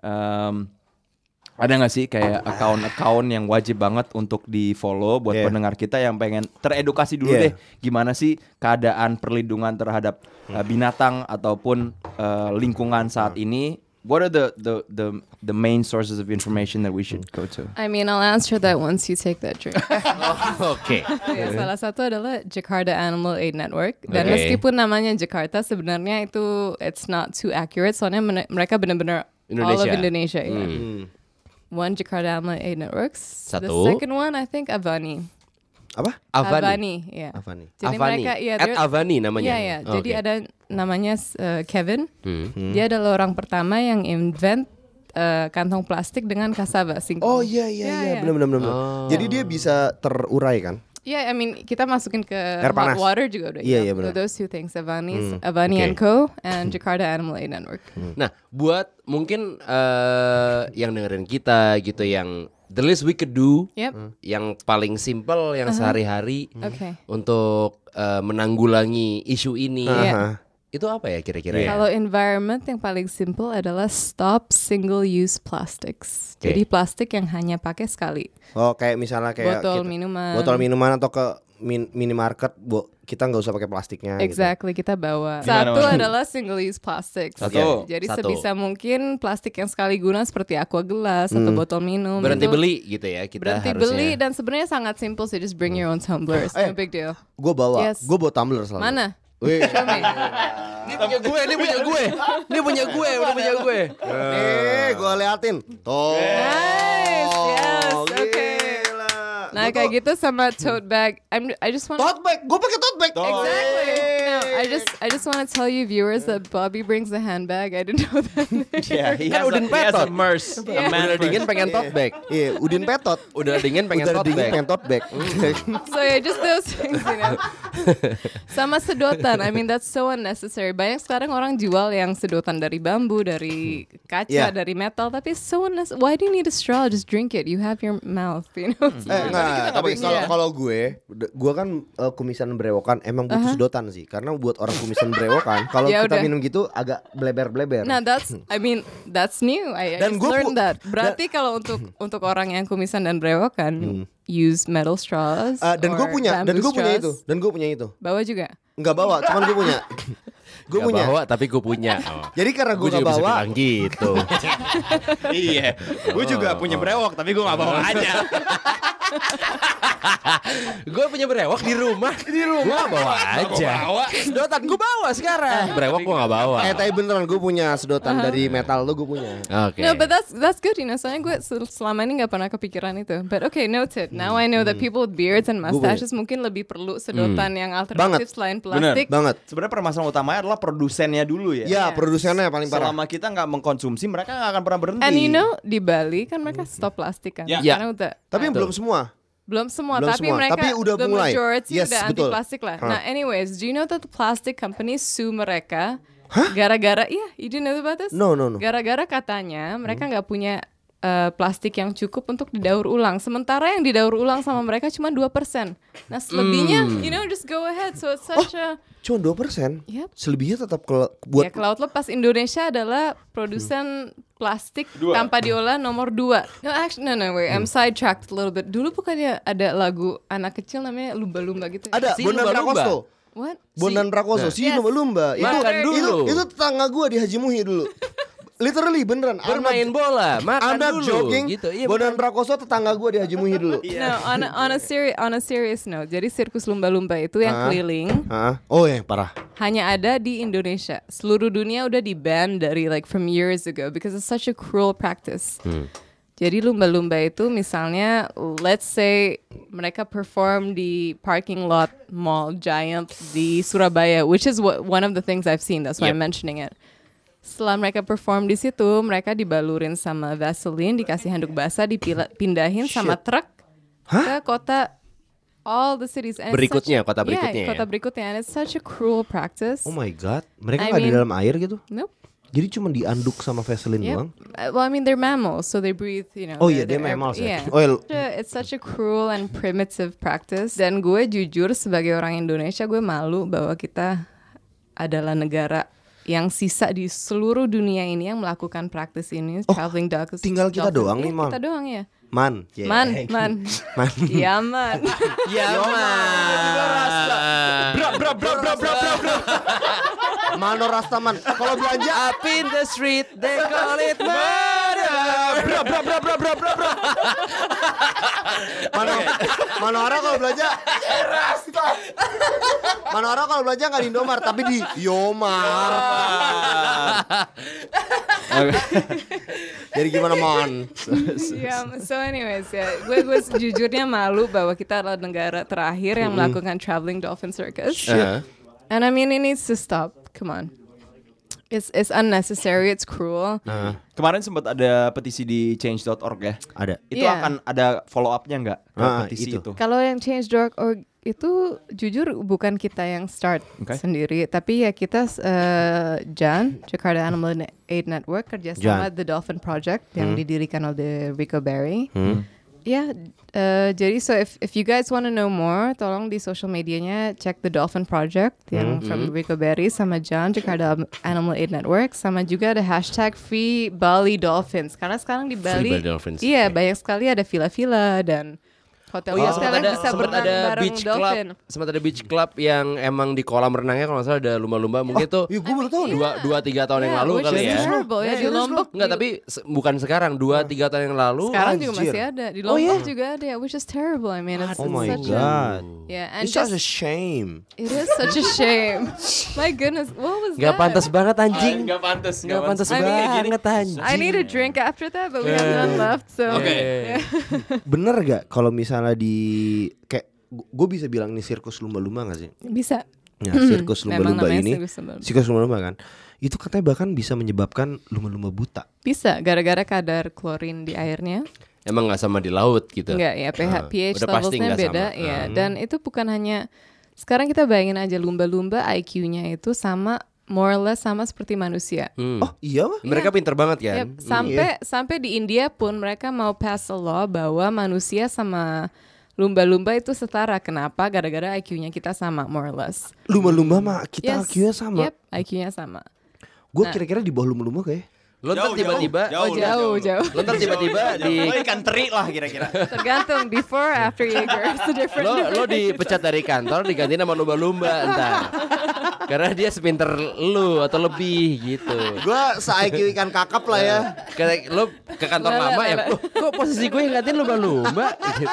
Ada nggak sih kayak account yang wajib banget untuk di follow buat Yeah. pendengar kita yang pengen teredukasi dulu Yeah. deh gimana sih keadaan perlindungan terhadap binatang ataupun lingkungan saat ini? What are the main sources of information that we should go to? I mean, I'll answer that once you take that drink. Oke. Ya, salah satu adalah Jakarta Animal Aid Network. Dan Oke. meskipun namanya Jakarta, sebenarnya itu it's not too accurate. Soalnya mereka benar-benar all of Indonesia. Ya. One Jakarta Animal Aid Networks. The Satu. second one, I think Avani. Apa? Avani. Ya. Avani. Jadi Avani. mereka, ya, At Avani namanya. Iya, iya. Jadi Oke. ada namanya Kevin. Dia adalah orang pertama yang invent kantong plastik dengan cassava. Oh iya, benar. Jadi dia bisa terurai kan? Yeah, I mean kita masukin ke Air panas. hot water juga udah. Iya, yeah. iya, benar. Those two things, Avani Oke. and Co. and Jakarta Animal Aid Network. Nah, buat mungkin yang dengerin kita gitu, yang the least we could do, Yep. yang paling simple, yang sehari-hari Okay. untuk menanggulangi isu ini, Iya. itu apa ya kira-kira? ya? Kalau environment yang paling simple adalah stop single use plastics. Oke. Jadi plastik yang hanya pakai sekali. Oh kayak misalnya kayak Botol minuman. botol minuman atau ke minimarket, kita nggak usah pakai plastiknya. gitu. Exactly, kita bawa. Gimana, Satu Mas? adalah single use plastics. Satu. Jadi Satu. sebisa mungkin plastik yang sekali guna seperti aqua gelas atau botol minum. Berhenti itu beli gitu ya kita Berhenti harusnya. beli, dan sebenarnya sangat simple sih, just bring your own tumblers. No big deal. Gue bawa, Yes. gue bawa tumbler selalu. Mana? Wih. Show me. Ini punya gue, ini punya gue. Ini punya gue, udah punya gue. Gue liatin. Tuh. Nice, yes, Gila. okay. Nah kayak gitu sama tote bag. I just want. Tote bag, gue pakai tote bag. Exactly. No, I just want to tell you viewers that Bobby brings the handbag. I didn't know that. Yeah, he Kan has Udin a Petot. merce. A man Udah dingin pengen tote bag. Iya, Udin Petot. Udah dingin pengen Udah tote dingin bag. pengen tote bag. So yeah, just those things, you know. Sama sedotan. I mean that's so unnecessary. Banyak sekarang orang jual yang sedotan dari bambu, dari kaca, Yeah. dari metal. Tapi so unnecessary. Why do you need a straw? Just drink it. You have your mouth, you know. Enggak, tapi kalau gue kan kumisan brewokan emang butuh sedotan sih, karena buat orang kumisan brewokan kalau Ya kita udah. minum gitu agak bleber-bleber. Nah, that's new. I Dan just gue learned that. Berarti kalau untuk orang yang kumisan dan brewokan, use metal straws. Dan gue or punya bamboo straws. itu. Bawa juga. Nggak bawa, cuman gue punya. Gue Gak punya. bawa tapi gue punya. Oh. Jadi karena gue Gue nggak juga bisa bawa, bilang gitu. Iya. Gue juga punya brewok tapi gue gak bawa aja. Gue punya brewok di rumah. Gue gak bawa aja. Sedotan gue bawa sekarang. Brewok gue gak bawa. tapi beneran gue punya sedotan dari metal tuh gue punya. Oke. No, but that's good, you know. Soalnya gue selama ini nggak pernah kepikiran itu. But okay, noted. Now I know that people with beards and mustaches mungkin lebih perlu sedotan yang alternatif selain plastik. Banget. Sebenarnya permasalahan utamanya adalah produsennya dulu ya. Ya, produsennya paling parah. Selama kita nggak mengkonsumsi, mereka nggak akan pernah berhenti. And you know di Bali kan mereka stop plastik kan. Ya. Karena udah Tapi belum semua. belum semua, Belum tapi semua, mereka tapi udah the mulai. majority Yes, udah anti betul. plastik lah. Nah, anyways, do you know that the plastic companies sue mereka gara-gara you didn't know about this? No. Gara-gara katanya mereka nggak punya plastik yang cukup untuk didaur ulang. Sementara yang didaur ulang sama mereka cuma 2%. Nah, selebihnya you know just go ahead. So it's such a Cuma 2%. Yep. Selebihnya tetap buat ya ke laut lepas. Indonesia adalah produsen plastik tanpa diolah nomor 2. No, wait, I'm sidetracked a little bit. Dulu bukannya ada lagu anak kecil namanya lumba-lumba gitu ya? ada Si Bondan lumba-lumba. Prakoso. What? Bondan Prakoso, si Yes. lumba-lumba. Makan dulu. Itu tetangga gue di Haji Muhi dulu. Literally beneran. Bermain bola, makan I'm not dulu. joking. Gitu. Iya, Bondan Prakoso tetangga gue di Haji Muhi dulu. No, on a serious note. Jadi sirkus lumba-lumba itu yang keliling Hah? Oh ya, parah. hanya ada di Indonesia. Seluruh dunia udah di-ban dari like from years ago because it's such a cruel practice. Jadi lumba-lumba itu misalnya let's say mereka perform di parking lot mall Giant di Surabaya, which is one of the things I've seen. That's why I'm mentioning it. Setelah mereka perform di situ, mereka dibalurin sama Vaseline, dikasih handuk basah, dipindahin sama truk ke kota all the cities. And it's Berikutnya, such- kota berikutnya Yeah, kota ya? berikutnya. And it's such a cruel practice. Oh my god, mereka I nggak di mean- dalam air gitu? Nope. Jadi cuma dianduk sama Vaseline Yep. doang? Well, I mean, they're mammals, so they breathe, you know. Oh iya, they're dia mammals ya. Yeah. Oh iya. It's such a cruel and primitive practice. Dan gue jujur sebagai orang Indonesia, gue malu bahwa kita adalah negara yang sisa di seluruh dunia ini yang melakukan praktis ini. Traveling dogs. tinggal kita doang nih, Man. Kita doang ya. Man. Yeah. Man. Iya, man. Ya bro. Mano Rastaman. Kalau belanja Up in the street, they call it murder. Manora kalau belanja Manora kalau belanja nggak di Indomart tapi di Yomar. Jadi gimana Man? So anyways ya, gue sejujurnya malu bahwa kita adalah negara terakhir yang melakukan traveling dolphin circus. And I mean it needs to stop. Come on. It's unnecessary, it's cruel. Kemarin sempat ada petisi di change.org ya. Ada. Itu Iya. akan ada follow up-nya nggak ke petisi itu. itu? Kalau yang change.org itu jujur bukan kita yang start sendiri, tapi ya kita Jan, Jakarta Animal Aid Network kerjasama The Dolphin Project yang didirikan oleh Rico Berry. Ya, jadi so if you guys want to know more, tolong di social medianya cek The Dolphin Project yang from Rico Berry sama Jan, Jakarta Animal Aid Network, sama juga ada hashtag Free Bali Dolphins. Karena sekarang di Bali, Bali Dolphins. iya banyak sekali ada villa-villa dan hotel-hotel yang bisa sempat berenang ada bareng beach dolphin. club, sempat ada beach club yang emang di kolam renangnya kalau nggak salah ada lumba-lumba. Mungkin itu Iya, gue baru tahu nih. 2-3 tahun yang lalu which kali is ya. terrible ya di Lombok. Enggak, tapi bukan sekarang, 2-3 tahun yang lalu. Sekarang juga Anjir. masih ada. Di Lombok juga ada ya, which is terrible. I mean, it's Oh my such god. yeah, and It's such a just, shame. it is such a shame. My goodness, what was Nggak that? pantas banget anjing. Nggak pantas. Nggak pantas I mean, banget anjing. I need a drink after that, but we have none left. So Oke. yeah. Bener gak kalau misalnya misalnya di kayak gue bisa bilang ini sirkus lumba-lumba nggak sih? Bisa. Ya, sirkus Memang lumba-lumba namanya ini, sirkus lumba-lumba. sirkus lumba-lumba kan, itu katanya bahkan bisa menyebabkan lumba-lumba buta. Bisa, gara-gara kadar klorin di airnya. Emang nggak sama di laut gitu. Enggak ya, pH Udah pasti levelsnya nggak beda sama. ya. Dan itu bukan hanya, sekarang kita bayangin aja lumba-lumba IQ-nya itu sama, more or less sama seperti manusia. Oh iya mah? Mereka pinter banget kan. Yep, sampai di India pun mereka mau pass a law bahwa manusia sama lumba-lumba itu setara. Kenapa? Gara-gara IQ-nya kita sama, more or less. Lumba-lumba mah kita Yes. IQ-nya sama. Yep, IQ-nya sama. Gue kira-kira di bawah lumba-lumba kayak. Lo ntar tiba-tiba, Jauh. lo ntar tiba-tiba di Lo ikan teri lah kira-kira. Tergantung before after Jaeger. It's a different. lo dipecat dari kantor diganti nama lumba-lumba entar. Karena dia sepinter lu atau lebih gitu. Gue se-IQ ikan kakap lah ya. Kayak lo ke kantor lama ya, "Loh, kok posisi gue yang gantiin lumba-lumba?" Gitu.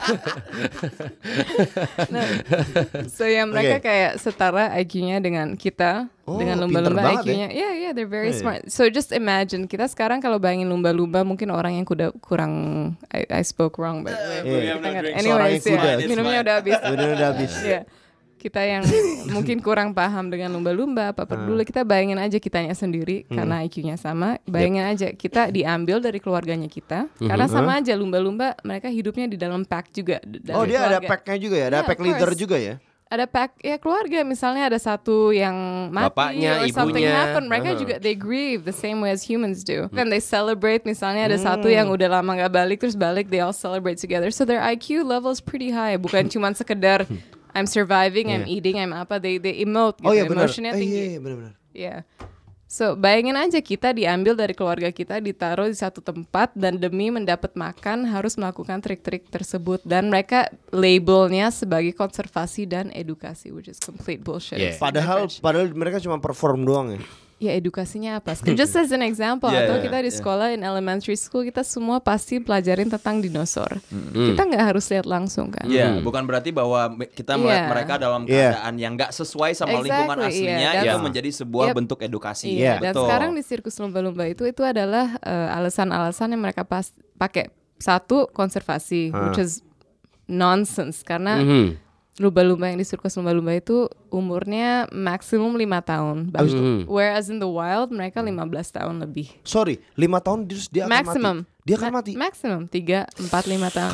So ya mereka kayak setara IQ-nya dengan kita, Oh, dengan pinter lumba-lumba banget IQ-nya. Yeah, they're very smart. So just imagine kita sekarang kalau bayangin lumba-lumba, mungkin orang yang kurang I spoke wrong by the way. Kita nggak- anyways, Seorang yang kuda. ya, minumnya udah habis. Udah habis. Iya. Kita yang mungkin kurang paham dengan lumba-lumba apa peduli, kita bayangin aja kitanya sendiri karena IQ-nya sama. Bayangin aja kita diambil dari keluarganya kita karena sama aja lumba-lumba mereka hidupnya di dalam pack juga. Oh dia ada keluarga. pack-nya juga ya, ada Yeah, pack of leader course. juga ya. Ada pack ya keluarga, misalnya ada satu yang mati Bapaknya, or something ibunya. happen, mereka juga they grieve the same way as humans do. And they celebrate, misalnya ada satu yang udah lama nggak balik terus balik, they all celebrate together. So their IQ level is pretty high, bukan cuma sekedar I'm surviving, I'm eating, I'm apa, they emote gitu, Oh iya benar. emotionnya tinggi. Iya benar-benar. Yeah. So bayangin aja kita diambil dari keluarga kita, ditaruh di satu tempat dan demi mendapat makan harus melakukan trik-trik tersebut, dan mereka labelnya sebagai konservasi dan edukasi, which is complete bullshit. Yeah. Padahal mereka cuma perform doang ya. Ya edukasinya apa? Just as an example, Yeah, atau yeah, kita di sekolah in elementary school kita semua pasti pelajarin tentang dinosaur. Kita nggak harus lihat langsung kan? Iya, bukan berarti bahwa kita melihat Yeah. mereka dalam Yeah. keadaan yang nggak sesuai sama lingkungan Exactly, aslinya, yeah. itu That's- menjadi sebuah Yep. bentuk edukasi. Iya. Dan Betul. sekarang di sirkus lumba-lumba itu adalah alasan-alasan yang mereka pakai. Satu, konservasi, which is nonsense karena lumba-lumba yang di sirkus lumba-lumba itu umurnya maksimum 5 tahun. Whereas in the wild mereka 15 tahun lebih. Sorry, 5 tahun terus dia akan Maximum. mati. Dia akan mati. Maximum 3, 4, 5 tahun.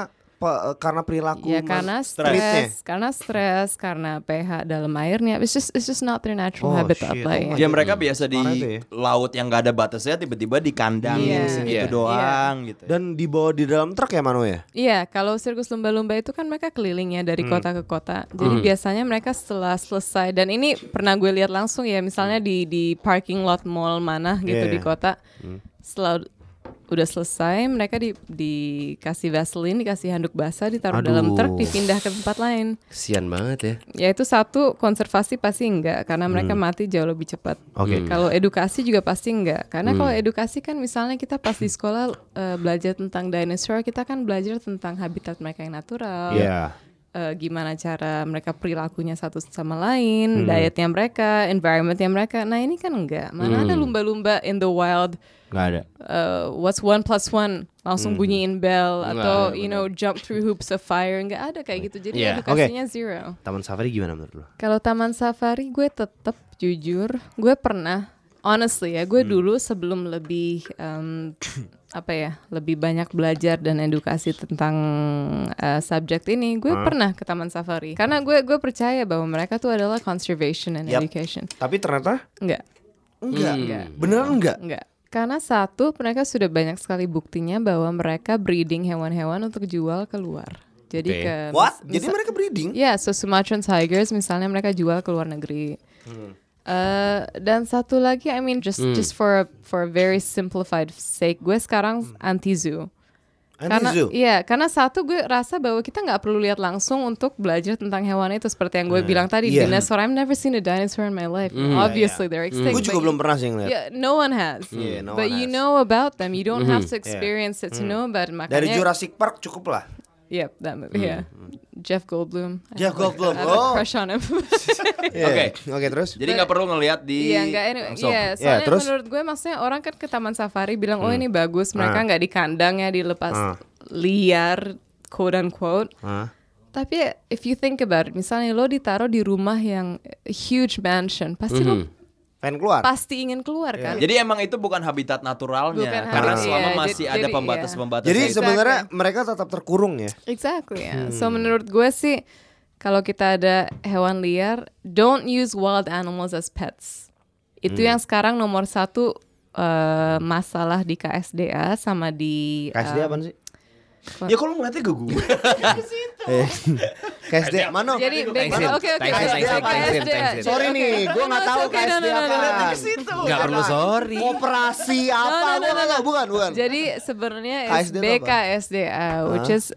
Karena perilaku Ya karena streetnya. stres, karena pH dalam airnya. It's just not their natural Oh, habitat shit. lah Oh ya. my Ya mereka biasa di Parah itu ya. laut yang nggak ada batasnya, tiba-tiba di kandang Iya. segitu Iya. doang gitu. Dan dibawa di dalam truk ya Mano ya? Iya, kalau sirkus lumba-lumba itu kan mereka keliling ya dari kota ke kota. Jadi biasanya mereka setelah selesai, dan ini pernah gue lihat langsung ya, misalnya di parking lot mall mana gitu Yeah. di kota. Setelah udah selesai, mereka dikasih Vaseline, dikasih handuk basah, ditaruh dalam truk, dipindah ke tempat lain. Kesian banget ya. Ya itu satu, konservasi pasti enggak karena mereka mati jauh lebih cepat. Oke. Kalau edukasi juga pasti enggak, karena kalau edukasi kan misalnya kita pas di sekolah belajar tentang dinosaur, kita kan belajar tentang habitat mereka yang natural. Iya. Gimana cara mereka perilakunya satu sama lain, dietnya mereka, environmentnya mereka. Nah ini kan enggak. Mana ada lumba-lumba in the wild? Nggak ada. What's 1 + 1? Langsung bunyiin bell atau you know jump through hoops of fire, nggak ada kayak gitu. Jadi Yeah. edukasinya zero. Taman safari gimana menurut lo? Kalau taman safari gue tetap jujur, gue pernah honestly ya, gue dulu sebelum lebih apa ya, lebih banyak belajar dan edukasi tentang subjek ini, gue pernah ke taman safari. Karena gue percaya bahwa mereka tuh adalah conservation and Yap. education. Tapi ternyata Enggak. enggak. Beneran enggak? Enggak. Karena satu, mereka sudah banyak sekali buktinya bahwa mereka breeding hewan-hewan untuk jual keluar. Jadi Oke. ke What? Jadi mereka breeding? ya, so Sumatran tigers misalnya mereka jual ke luar negeri. Dan satu lagi, I mean just for a very simplified sake, gue sekarang anti zoo. Karena Anti-zoo? iya, karena satu gue rasa bahwa kita nggak perlu lihat langsung untuk belajar tentang hewan itu, seperti yang gue bilang tadi, Iya. dinosaur. I've never seen a dinosaur in my life. Obviously they're extinct. Gue juga but- belum pernah sih ngeliat. Yeah, no one has. Yeah, no but one you has. know about them. You don't have to experience it to know about it. Makanya, Dari Jurassic Park cukup lah. Yep, that movie. Yeah, Jeff Goldblum. Jeff Goldblum, I have a oh. crush on him. Iya. Oke terus? Jadi nggak perlu ngelihat di Iya, enggak anyway. langsung. Iya, Ya, soalnya terus? menurut gue maksudnya orang kan ke taman safari bilang, oh ini bagus, mereka nggak di kandang ya, dilepas liar quote unquote. Tapi if you think about it, misalnya lo ditaruh di rumah yang huge mansion, pasti lo Pengen keluar. pasti ingin keluar kan? Jadi emang itu bukan habitat naturalnya Bukan karena habitat, selama iya. masih ada Jadi, pembatas-pembatas. Jadi Exactly. sebenarnya mereka tetap terkurung ya. Exactly. Ya. So menurut gue sih, kalau kita ada hewan liar, don't use wild animals as pets. Itu yang sekarang nomor 1 masalah di KSDA sama di KSD apaan sih? Ya kalau ngeliatnya ke gue. KSD mana? Jadi Thanksin. oke Thanksin. Sorry nih, gue nggak tahu KSD apaan. Nggak perlu sorry. Koperasi apa? Gue nggak tahu, bukan. Jadi sebenarnya KSD itu apa? BKSDA, which is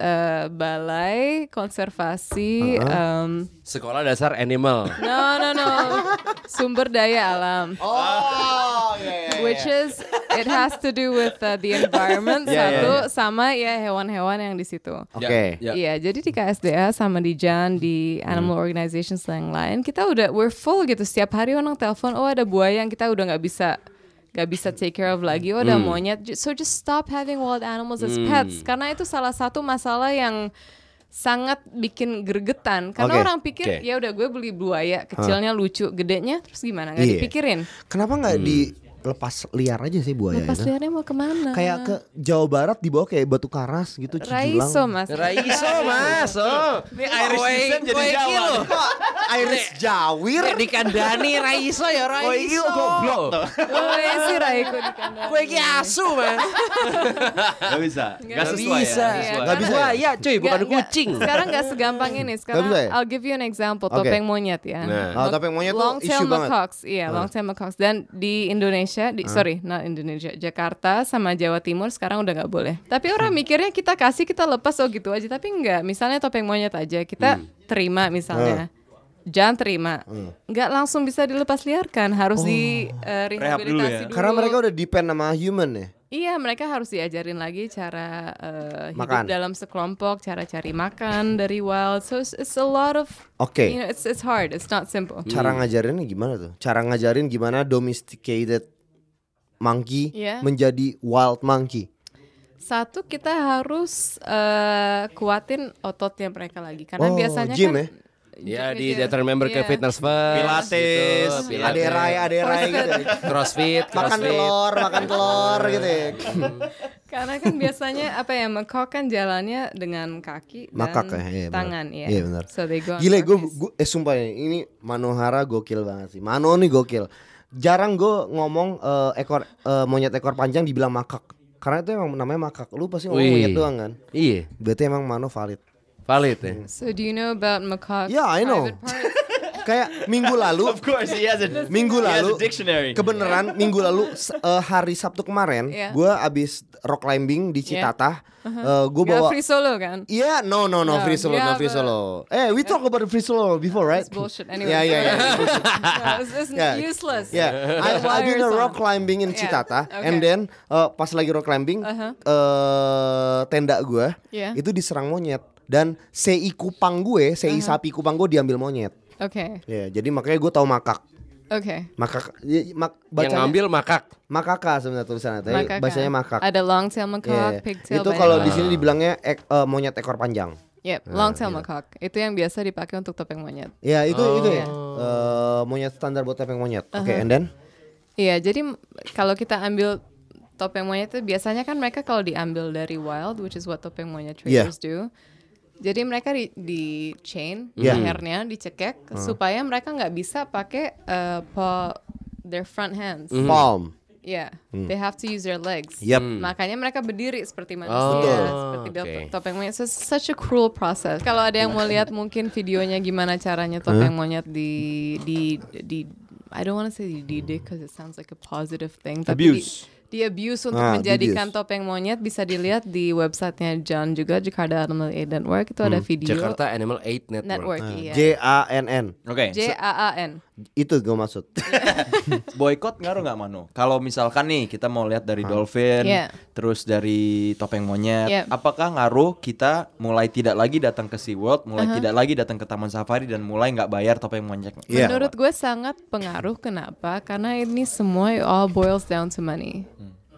Balai Konservasi Sekolah Dasar Animal. no Sumber Daya Alam. Oh, iya. Which is it has to do with the environment satu sama ya hewan-hewan yang di situ. Oke. Ya. Iya, jadi di KSDA sama di JAN di animal organizations yang lain kita we're full gitu. Setiap hari orang telepon, oh ada buaya yang kita udah nggak bisa take care of lagi. Oh ada monyet. So just stop having wild animals as pets karena itu salah satu masalah yang sangat bikin gregetan karena Oke. orang pikir ya udah gue beli buaya kecilnya lucu, gedenya terus gimana nggak Iya. dipikirin. Kenapa nggak dilepas liar aja sih buaya Lepas itu? liarnya mau kemana? Kayak ke Jawa Barat dibawa kayak Batu Karas gitu, Cijulang. Raiso mas. Raiso mas. Oh. Ini Irish descent jadi Jawa. Irish Jawir. Dikandani Raiso ya Raiso. Oh iya goblok tuh. Gue sih Raiko di kandang. Gue ki asu mas. Gak bisa. Gak sesuai bisa. ya. Nggak bisa ya? Ya cuy, bukan kucing. Sekarang nggak segampang ini. Sekarang bisa ya? I'll give you an example. Oke. Topeng monyet ya. Oh, topeng monyet tuh Long isu tail banget. macaques, iya, long tail macaques. Dan di Indonesia, sorry, not Indonesia, Jakarta sama Jawa Timur sekarang udah nggak boleh. Tapi orang mikirnya kita kasih, kita lepas oh gitu aja. Tapi enggak. Misalnya topeng monyet aja, kita terima misalnya. Jangan terima, nggak langsung bisa dilepas liarkan, harus di Rehab dulu rehabilitasi ya? dulu. Karena mereka udah depend sama human ya. Iya, mereka harus diajarin lagi cara hidup Makan. dalam sekelompok, cara cari makan dari wild. So it's a lot of, Oke. you know, it's hard, it's not simple. Cara ngajarinnya gimana tuh? Cara ngajarin gimana domesticated monkey Iya. menjadi wild monkey. Satu, kita harus kuatin ototnya mereka lagi, karena Oh, biasanya gym kan. ya? Ya di Iya. data member ke Iya. Fitness First Pilates. gitu, Aderai gitu. Crossfit Makan telur gitu ya. Karena kan biasanya apa ya, macaque kan jalannya dengan kaki dan Makak ya, iya, benar. tangan ya. Iya, benar. So they go on Gile gue purpose. sumpah ini Manohara gokil banget sih. Mano nih gokil. Jarang gue ngomong monyet ekor panjang dibilang makak. Karena itu emang namanya makak. Lu pasti ngomong Wih. monyet doang kan. Iya, Berarti emang Mano valid. valid ya. So do you know about macaque? Yeah, I know. private parts? Kayak minggu lalu Of course he has a Minggu he has lalu a dictionary. kebeneran minggu lalu hari Sabtu kemarin Yeah. gue abis rock climbing di Citatah. Gue Nggak bawa free solo kan? Iya, no, free solo, yeah, no free solo. We talk about the free solo before, right? It's bullshit anyway. Yeah. No, it's Yeah. useless. Yeah, I did a rock climbing in Yeah, Citatah, okay. and then pas lagi rock climbing, tenda gue Yeah. itu diserang monyet dan sei kupang gue, sapi kupang gue diambil monyet. Okay. Ya, jadi makanya gue tahu makak. Okay. Makak, Yang bacanya ngambil makak. makaka sebenarnya tulisannya, tapi Macaque. bahasanya makak. Ada long tail macaque, Yeah. pigtail. Itu banyak. kalau di sini dibilangnya monyet ekor panjang. Yep, long tail macaque. Itu yang biasa dipakai untuk topeng monyet. Ya itu ya. Monyet standar buat topeng monyet. Oke, and then? Iya, jadi kalau kita ambil topeng monyet itu biasanya kan mereka kalau diambil dari wild, which is what topeng monyet Yeah. traders do. Jadi mereka di chain Yeah. lehernya dicekek supaya mereka nggak bisa pakai their front hands. Palm. Yeah, they have to use their legs. Yep. Makanya mereka berdiri seperti manusia, Betul. seperti Oke. topeng monyet. So, such a cruel process. Kalau ada yang mau lihat mungkin videonya gimana caranya topeng monyet di I don't want to say dididik because it sounds like a positive thing. Tapi Abuse. di abuse untuk Ah, menjadikan di-abuse. topeng monyet bisa dilihat di websitenya John juga, Jakarta Animal Aid Network. Itu ada video Jakarta Animal Aid Network. iya. JANN. Oke. JAAN. Itu gue maksud. Boykot ngaruh nggak Manu? Kalau misalkan nih kita mau lihat dari dolphin, Yeah. terus dari topeng monyet, Yeah. apakah ngaruh kita mulai tidak lagi datang ke SeaWorld, mulai tidak lagi datang ke Taman Safari dan mulai nggak bayar topeng monyet? Iya. Menurut gue sangat pengaruh. Kenapa? Karena ini semua all boils down to money.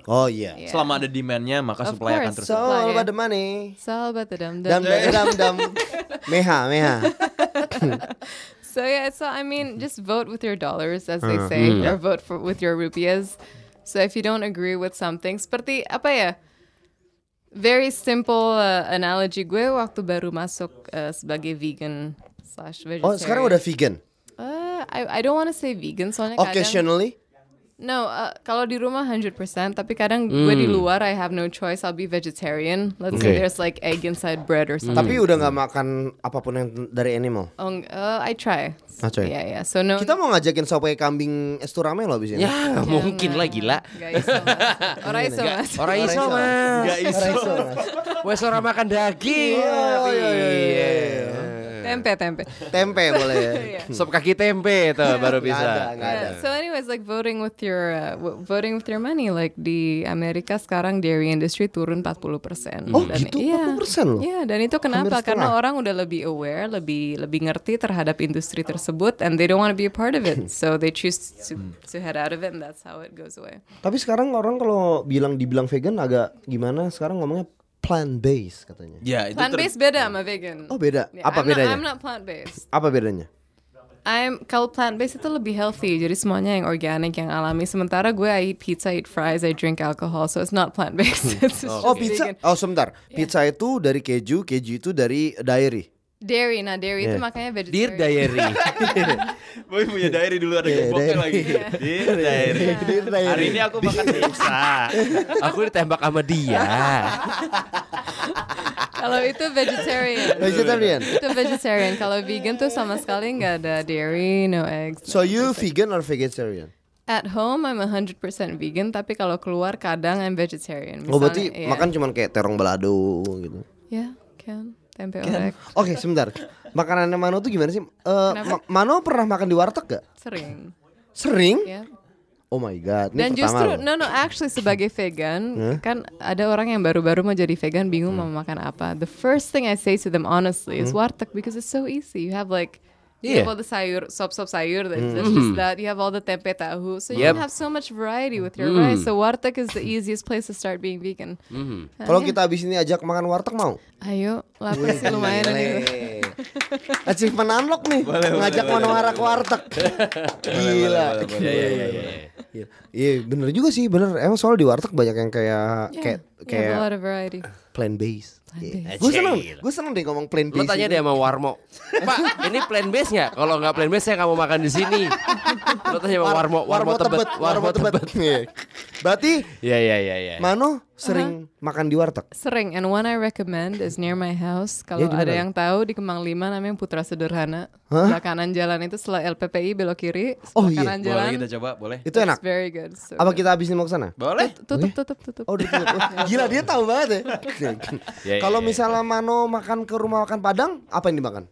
Oh iya. Yeah. Selama ada demand-nya maka Of supply akan course. terus. So Supply, all ya. about the money. It's all about the dum Dam dum. dam. Meha. So yeah, so I mean, just vote with your dollars, as they say, or vote with your rupiahs. So if you don't agree with something, seperti apa ya? Very simple analogy gue waktu baru masuk sebagai vegan/vegetarian. Oh sekarang udah vegan. I don't want to say vegan soalnya kadang. Occasionally. No, kalau di rumah 100%, tapi kadang gue di luar I have no choice, I'll be vegetarian. Let's say there's like egg inside bread or something. Tapi udah nggak makan apapun yang dari animal. I try. try. Yeah. So no. Kita mau ngajakin sopai kambing esturame lo abis ini. Ya mungkin lah gila. Gak iso mas. Ora iso mas. Orang iso mas. Gak iso mas. Wes orang makan daging. Iya. Tempe boleh ya. Yeah. Sop kaki tempe tuh baru bisa. Nggak ada. So anyways, like voting with your money, like di Amerika sekarang dairy industry turun 40%. Oh gitu, 40% loh. Iya, dan itu kenapa? Hampir Karena setengah. orang udah lebih aware, lebih ngerti terhadap industri tersebut, and they don't want to be a part of it, so they choose to head out of it, and that's how it goes away. Tapi sekarang orang kalau dibilang vegan agak gimana? Sekarang ngomongnya plant based katanya. Ya, itu Plant based beda sama vegan. Oh beda. Yeah, Apa I'm bedanya? I'm not plant based. Apa bedanya? Kalau plant based itu lebih healthy, jadi semuanya yang organic, yang alami. Sementara gue I eat pizza, I eat fries, I drink alcohol, so it's not plant based. It's just Oh pizza. vegan. Oh sebentar. Pizza itu dari keju itu dari dairy. Dairy itu Yeah. makanya Dear vegetarian. Diary. Boy punya diary dulu ada gemboknya lagi. Dear diary. Hari ini aku makan pizza. Aku ditembak sama dia. Kalau itu vegetarian. Vegetarian. Itu vegetarian. Kalau vegan tuh sama sekali nggak ada dairy, no eggs. So you vegan or vegetarian? At home I'm 100% vegan, tapi kalau keluar kadang I'm vegetarian. Oh berarti Misalnya, makan cuman kayak terong balado gitu. Ya, kan. Tempe orek. Oke sebentar. Makanannya Mano tuh gimana sih? Kenapa? Mano pernah makan di warteg gak? Sering. Sering? Ya. Oh my god. Ini Dan pertama justru loh. actually sebagai vegan kan ada orang yang baru-baru mau jadi vegan bingung mau makan apa. The first thing I say to them honestly is warteg, because it's so easy. You have like you have all the sayur, sop sayur, that's just that. You have all the tempe tahu, so you Yep. can have so much variety with your rice. So warteg is the easiest place to start being vegan. Kalau kita abis ini ajak makan warteg mau? Ayo, lapar sih lumayan ini. Achievement unlock nih. Ngajak Manowara ke warteg. Gila. Iya bener juga sih, bener. Emang soal di warteg banyak yang kayak You have a lot kayak of variety. plant based. Plant-based. Gue seneng deh ngomong plant Lu based. tanya deh sama Warmo. Pak, ini plant based nggak? Kalau nggak plant based saya nggak mau makan di sini. Lu tanya sama Warmo Tebet. Warmo Tebet. Iya. Berarti Iya. Mano sering makan di warteg. Sering, and one I recommend is near my house. Kalau Ya, di ada mana? yang tahu di Kemang 5 namanya Putra Sederhana. Sebelah kanan jalan itu setelah LPPI belok kiri. Oh, Sebelah iya. kanan jalan. Boleh kita coba, boleh? Itu enak. It's very good. So Apa good. kita abis ini mau ke sana? Boleh. Tutup. Oh, udah tutup. Gila dia tahu banget ya. Kalau misalnya Mano makan ke rumah makan Padang, apa yang dimakan?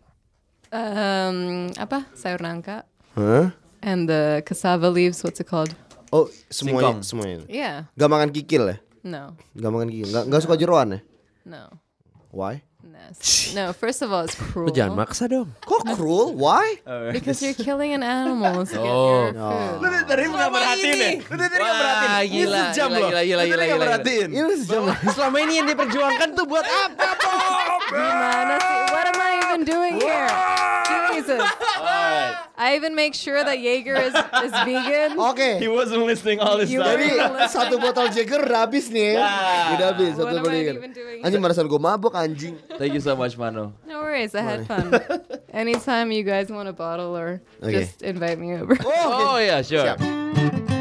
Apa? Sayur nangka. Hah? And the cassava leaves, what's it called? Oh, semuanya, Singkong. semuanya. Yeah. Gak makan kikil ya? No. Gak makan kikil. Gak suka jeroan ya? No. Why? No, first of all, it's cruel. Lu jangan maksa dong. Kok cruel? Why? Because you're killing an animal to get your food. Tadi nggak merhatiin ya? Lu tadi nggak merhatiin. Wah, Ini gila, sejam gila, loh. gila, gila, Lu tadi gila, nggak gila. merhatiin. Ini sejam. Selama ini yang diperjuangkan tuh buat apa, Bob? Gimana sih? What am I even doing here? Jesus. I even make sure that Jaeger is vegan. Oke. He wasn't listening all this You time. Jadi satu botol Jagger udah habis nih ya. Udah habis What satu am botol I Jagger. even doing? Anjing barasan gue mabok anjing. Thank you so much, Mano. No worries, I had fun. Anytime you guys want a bottle or Okay. just invite me over. Oh ya, sure. Siap.